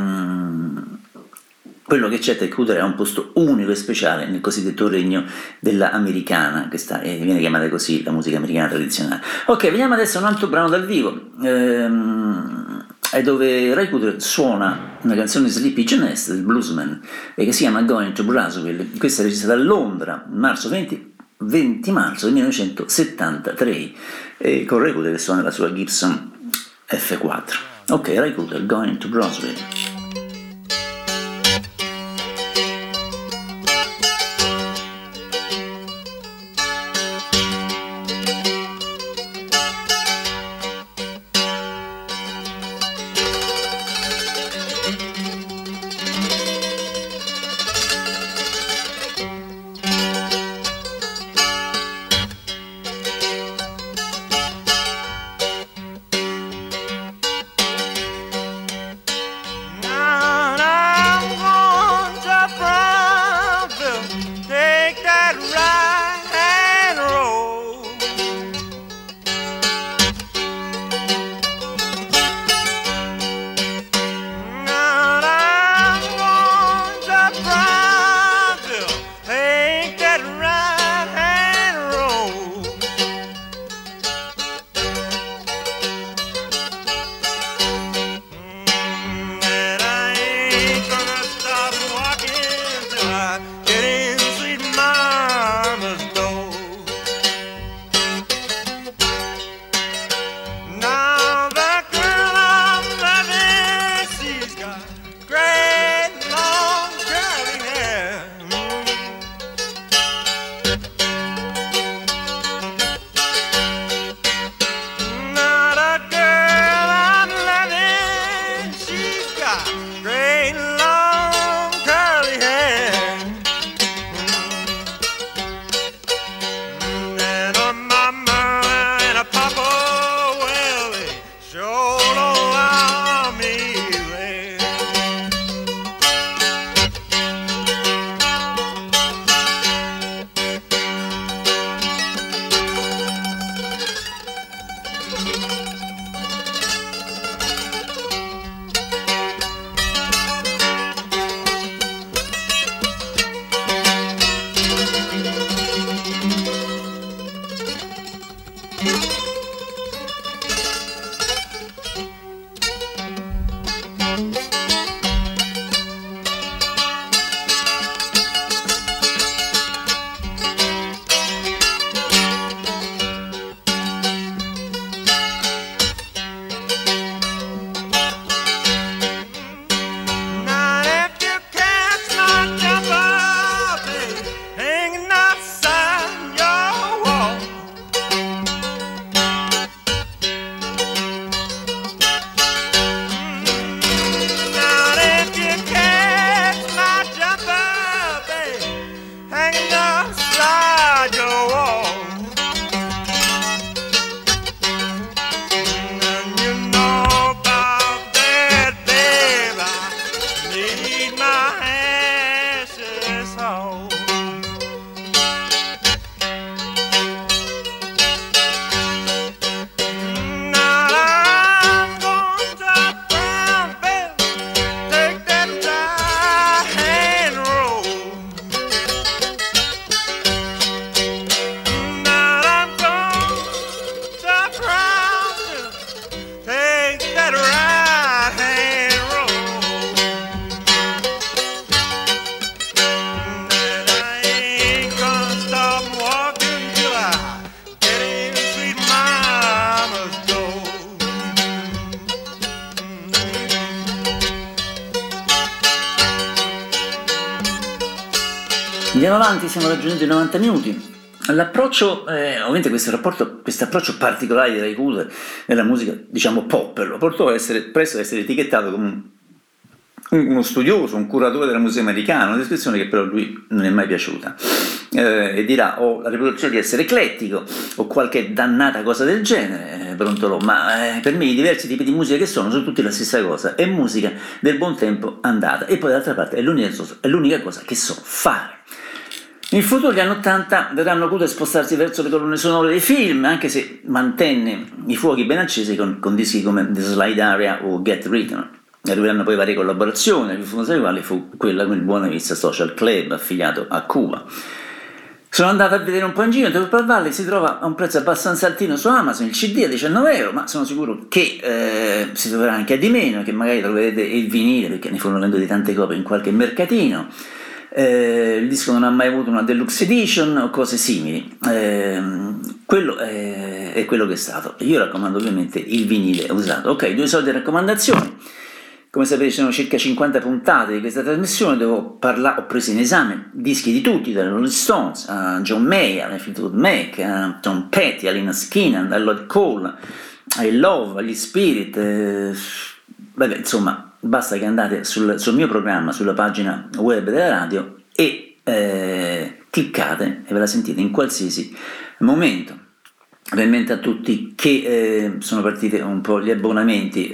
Quello che c'è da chiudere è un posto unico e speciale nel cosiddetto regno della americana, che viene chiamata così la musica americana tradizionale. Ok, veniamo adesso a un altro brano dal vivo, è dove Ray Cooder suona una canzone di Sleepy John Hess, del bluesman, che si chiama Going to Brazzaville. Questa è registrata a Londra, 20 marzo del 1973, con Ray Cooder che suona la sua Gibson F4. Ok, Ray Cooder, Going to Brazzaville. Andiamo avanti, siamo raggiunti i 90 minuti. L'approccio, ovviamente questo approccio particolare di Ray Cooder nella musica, diciamo pop, lo portò presto ad essere etichettato come uno studioso, un curatore della musica americana, una descrizione che però a lui non è mai piaciuta, e dirà: ho la reputazione di essere eclettico o qualche dannata cosa del genere, brontolò, ma per me i diversi tipi di musica che sono tutti la stessa cosa, è musica del buon tempo andata, e poi d'altra parte è l'unica cosa che so fare. In futuro, gli anni 80 vedranno Cooder spostarsi verso le colonne sonore dei film, anche se mantenne i fuochi ben accesi con dischi come The Slide Area o Get Rhythm. Arriveranno poi varie collaborazioni, la più famosa delle quali fu quella con il Buona Vista Social Club, affiliato a Cuba. Sono andato a vedere un po' in giro, in Temple Valley si trova a un prezzo abbastanza altino su Amazon, il CD a €19, ma sono sicuro che si troverà anche a di meno, che magari troverete il vinile, perché ne furono venduti tante copie in qualche mercatino. Il disco non ha mai avuto una deluxe edition o cose simili, quello è quello che è stato. Io raccomando ovviamente il vinile usato. Ok, 2 solite raccomandazioni. Come sapete, ci sono circa 50 puntate di questa trasmissione, ho preso in esame dischi di tutti, dai Rolling Stones a John Mayer, a Fleetwood Mac, a Tom Petty, a Lynyrd Skynyrd, a Lloyd Cole, ai Love, agli Spirit, insomma. Basta che andate sul mio programma, sulla pagina web della radio, e cliccate e ve la sentite in qualsiasi momento. Ovviamente a tutti che sono partiti un po' gli abbonamenti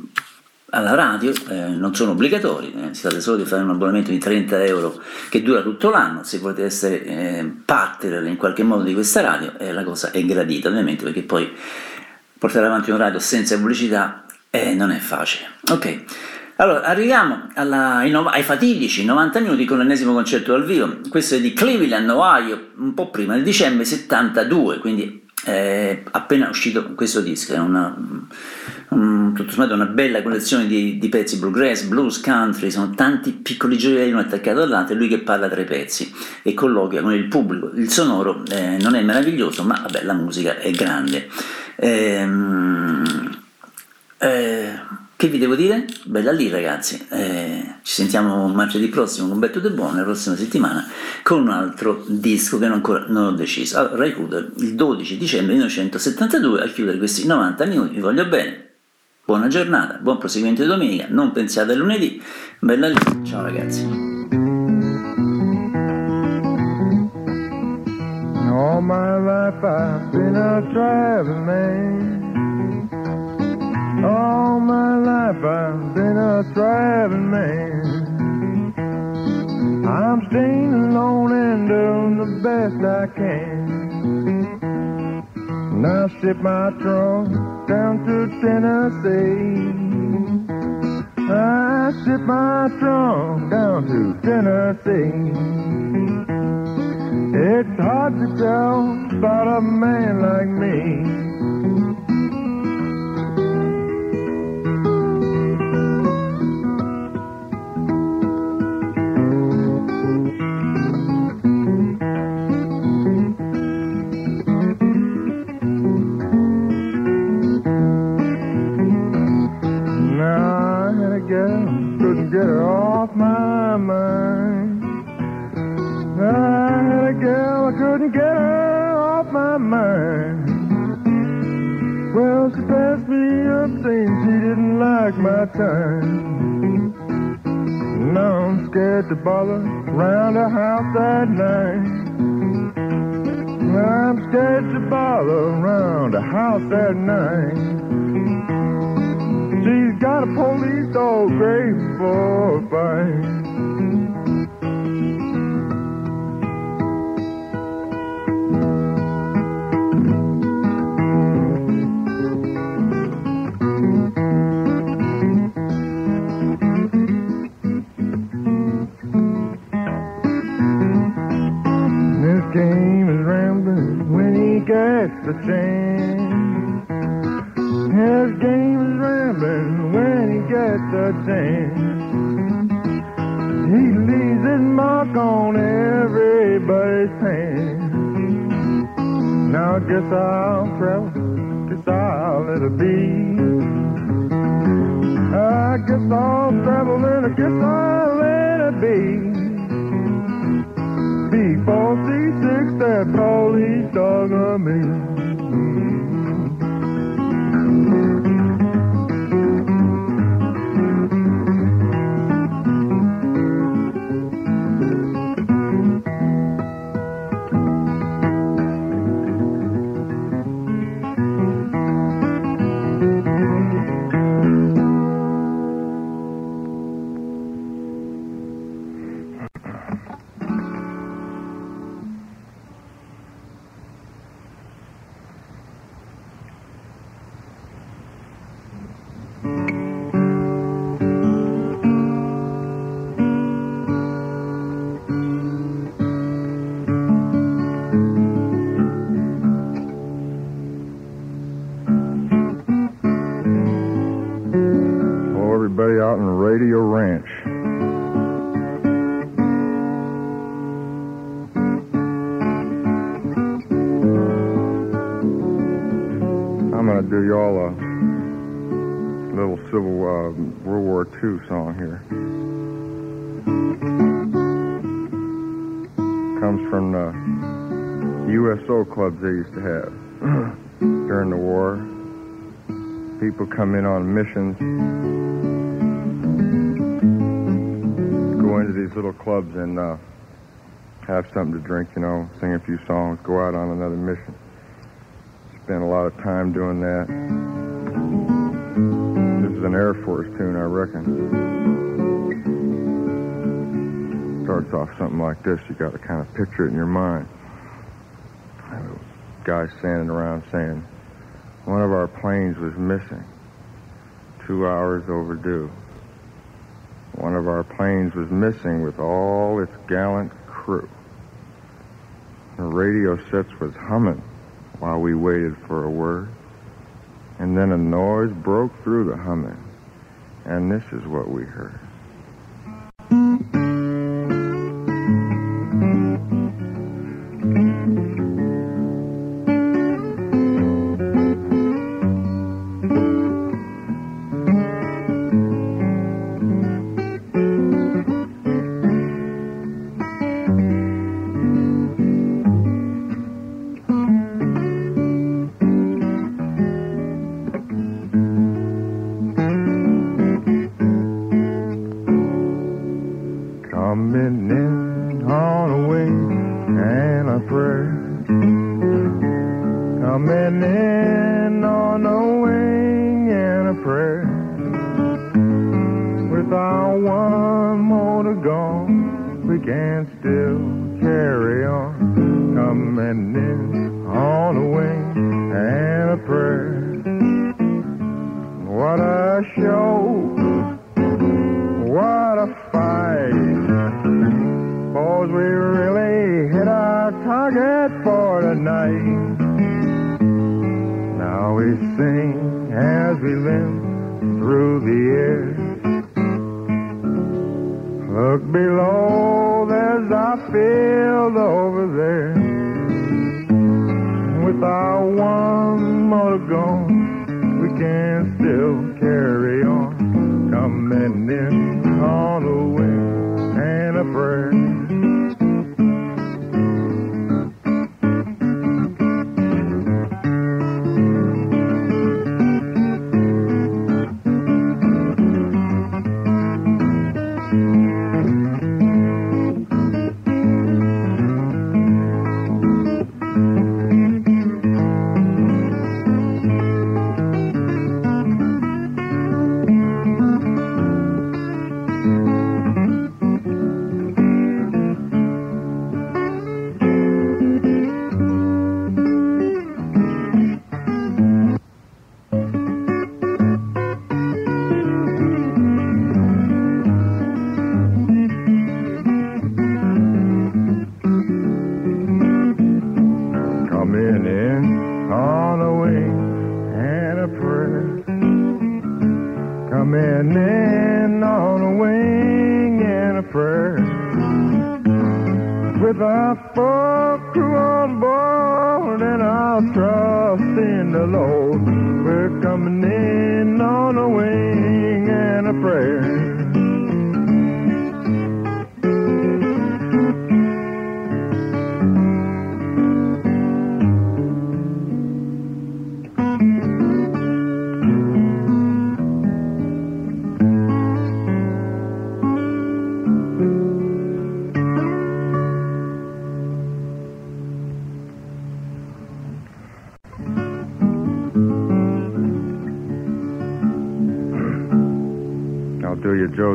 alla radio, non sono obbligatori, si tratta solo di fare un abbonamento di €30 che dura tutto l'anno. Se volete essere partner in qualche modo di questa radio, la cosa è gradita, ovviamente, perché poi portare avanti un radio senza pubblicità non è facile. Ok, allora arriviamo ai fatidici 90 minuti con l'ennesimo concerto dal vivo. Questo è di Cleveland, Ohio, un po' prima, nel dicembre 72, quindi appena uscito questo disco. È tutto sommato una bella collezione di pezzi bluegrass, blues, country, sono tanti piccoli gioielli uno attaccato all'altro, e lui che parla tra i pezzi e colloquia con il pubblico. Il sonoro non è meraviglioso, ma vabbè, la musica è grande. Che vi devo dire? Bella lì, ragazzi. Ci sentiamo martedì prossimo con Back to the Bone, la prossima settimana, con un altro disco che ancora non ho deciso. Allora, Ray Cooder, il 12 dicembre 1972, a chiudere questi 90 minuti. Vi voglio bene, buona giornata, buon proseguimento di domenica, non pensiate a lunedì. Bella lì, ciao ragazzi. All my life I've been a traveling man. All my life I've been a traveling man. I'm staying alone and doing the best I can. And I ship my trunk down to Tennessee. I ship my trunk down to Tennessee. It's hard to tell about a man like me. Couldn't get her off my mind. I had a girl, I couldn't get her off my mind. Well, she passed me up saying she didn't like my time. Now I'm scared to bother around the house at night. I'm scared to bother around the house at night. She's got a police dog great for a fight. This game is rambling when he gets the chance. His game is rambling when he gets a chance. He leaves his mark on everybody's hand. Now I guess I'll travel, guess I'll let it be. I guess I'll travel and I guess I'll let it be. East dog of me. Everybody out in Radio Ranch. I'm going to do y'all a little World War II song here. Comes from the USO clubs they used to have during the war. People come in on missions, go into these little clubs and have something to drink, you know, sing a few songs, go out on another mission. Spend a lot of time doing that. This is an Air Force tune, I reckon. Starts off something like this. You got to kind of picture it in your mind. Guys standing around saying, one of our planes was missing, 2 hours overdue. One of our planes was missing with all its gallant crew. The radio sets was humming while we waited for a word. And then a noise broke through the humming. And this is what we heard. Coming in on a wing and a prayer. Coming in on a wing and a prayer. Without one more to go, we can still carry on. Coming in on a wing and a prayer. What a show! What a fight! 'Cause we really hit our target for tonight. Now we sing as we limp through the air. Look below, there's our field over there. Without one more to go, we can still carry on. Coming in on a wing and a prayer. Coming in on a wing and a prayer. With our full crew on board and our trust in the Lord, we're coming in on a wing and a prayer.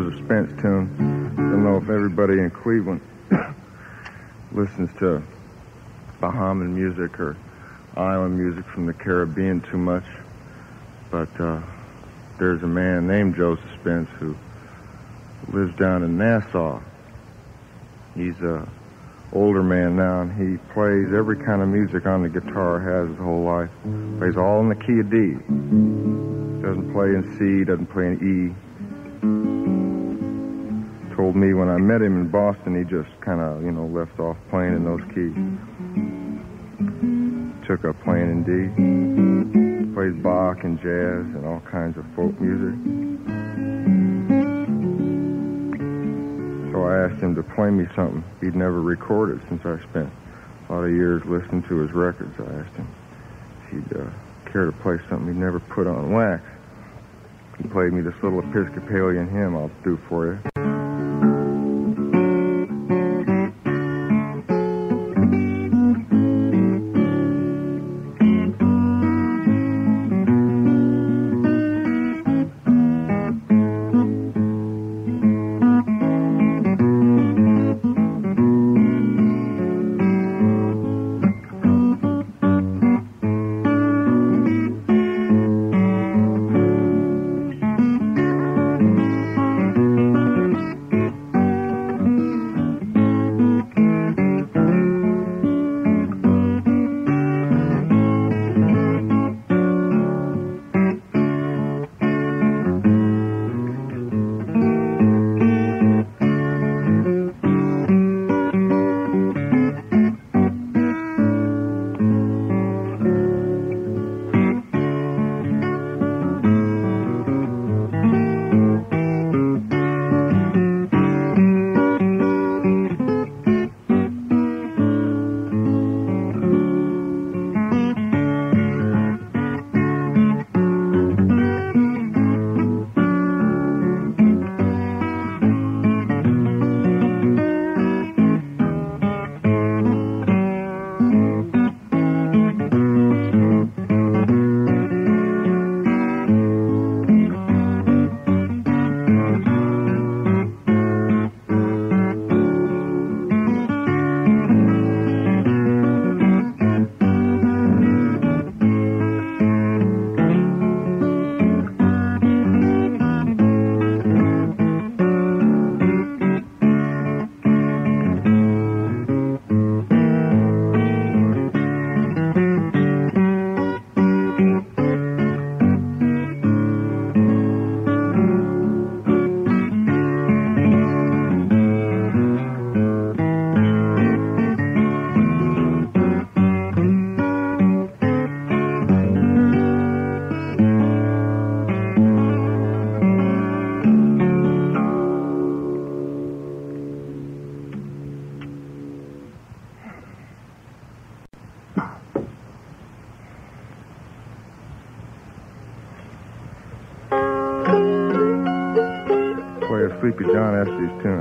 Joseph Spence tune. I don't know if everybody in Cleveland listens to Bahamian music or island music from the Caribbean too much, but there's a man named Joseph Spence who lives down in Nassau. He's a older man now, and he plays every kind of music on the guitar, has his whole life. Plays all in the key of D. Doesn't play in C, doesn't play in E. Told me when I met him in Boston, he just kind of, left off playing in those keys. Took up playing in D. Plays Bach and jazz and all kinds of folk music. So I asked him to play me something he'd never recorded since I spent a lot of years listening to his records. I asked him if he'd care to play something he'd never put on wax. He played me this little Episcopalian hymn I'll do for you. Sleepy John Estes tune,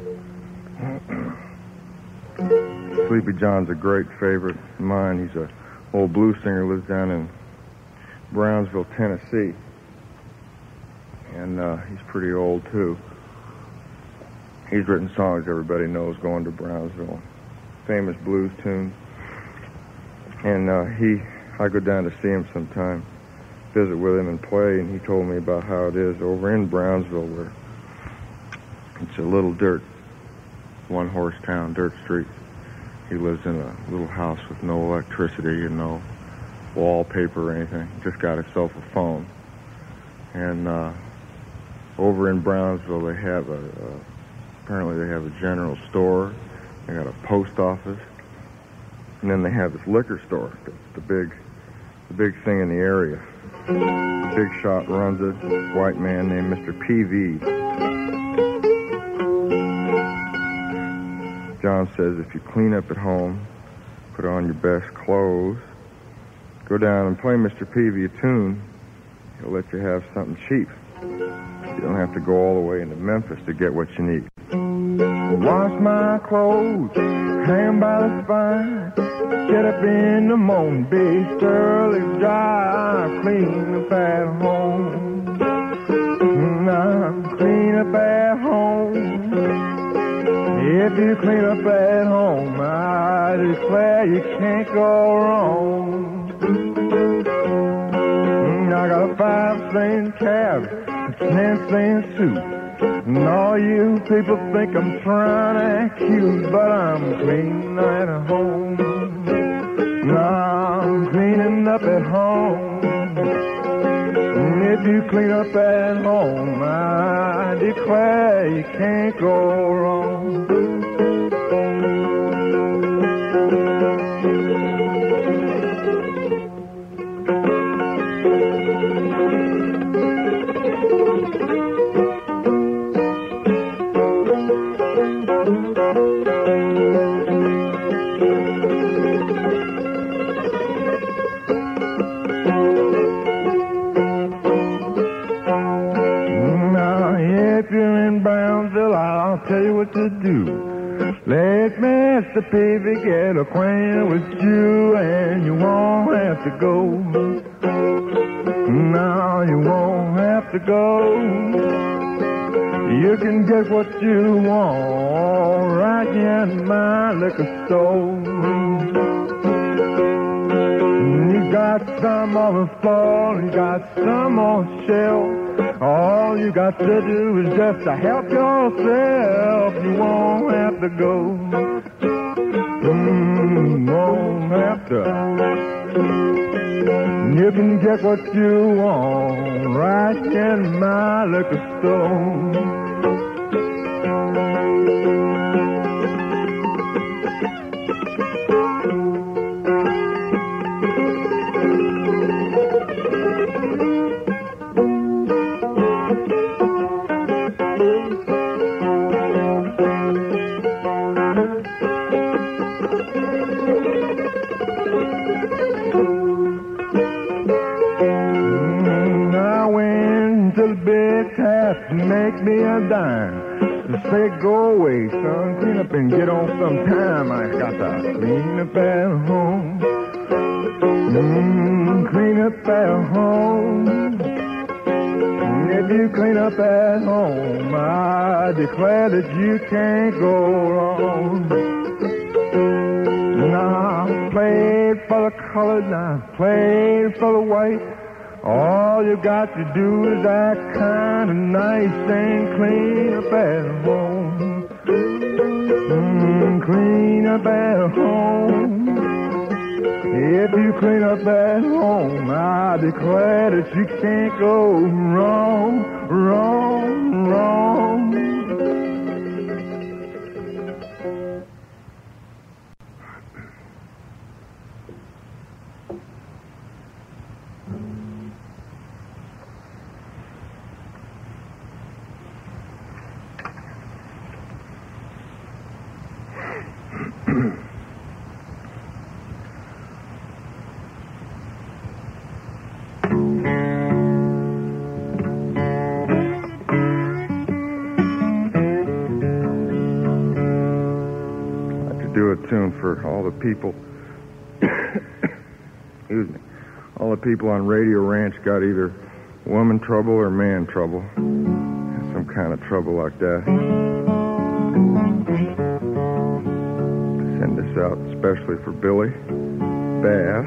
I think. Sleepy John's a great favorite of mine. He's an old blues singer, lives down in Brownsville, Tennessee. And he's pretty old, too. He's written songs everybody knows, Going to Brownsville. Famous blues tunes. And I go down to see him sometime, visit with him and play, and he told me about how it is over in Brownsville, where it's a little dirt, one-horse town, dirt streets. He lives in a little house with no electricity and no wallpaper or anything. Just got himself a phone. And over in Brownsville, they have apparently they have a general store. They got a post office. And then they have this liquor store. The big thing in the area. Big shot runs it. White man named Mr. P.V. John says if you clean up at home, put on your best clothes, go down and play Mr. Peavy a tune, he'll let you have something cheap. You don't have to go all the way into Memphis to get what you need. Wash my clothes, hang by the spine, get up in the morning, be thoroughly dry, clean up at home. I'm clean up at If you clean up at home, I declare you can't go wrong. I got a 5-cent cab, a 10-cent suit, and all you people think I'm trying to act cute, but I'm cleaning at home. I'm cleaning up at home. If you clean up at home, I declare you can't go wrong. I'll tell you what to do. Let Mr. Peavy get acquainted with you, and you won't have to go. No, you won't have to go. You can get what you want right here in my liquor store. You got some on the floor, you got some on the shelf. All you got to do is just to help yourself. You won't have to go. Won't have to. You can get what you want right in my liquor store. Make me a dime. Say, go away, son. Clean up and get on some time. I got to clean up at home. Clean up at home. If you clean up at home, I declare that you can't go wrong. Now, I played for the colored, now I played for the white. All you got to do is act kind of nice and clean up at home. Clean up at home. If you clean up at home, I declare that you can't go wrong, wrong, wrong. Tune for all the people excuse me, all the people on Radio Ranch got either woman trouble or man trouble, some kind of trouble like that. Send this out especially for Billy Bass,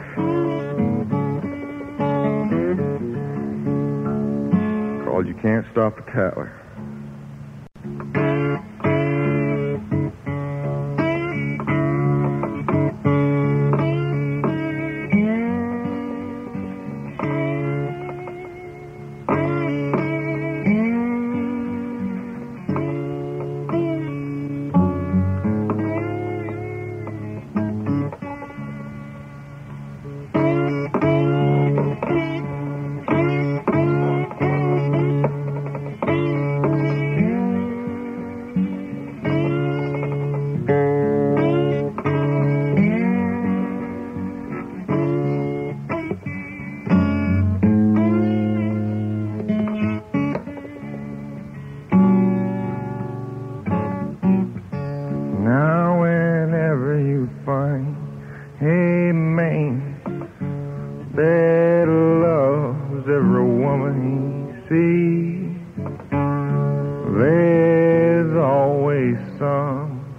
called You Can't Stop a Tattler.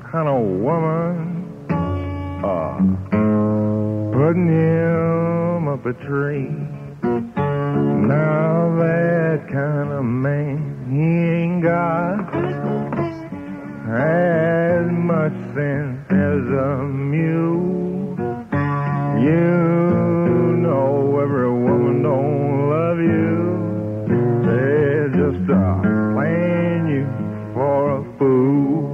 kind of woman. Putting him up a tree. Now that kind of man, he ain't got as much sense as a mule. You know every woman don't love you. They're just playing you for a fool.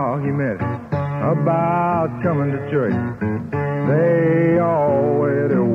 About coming to church, they always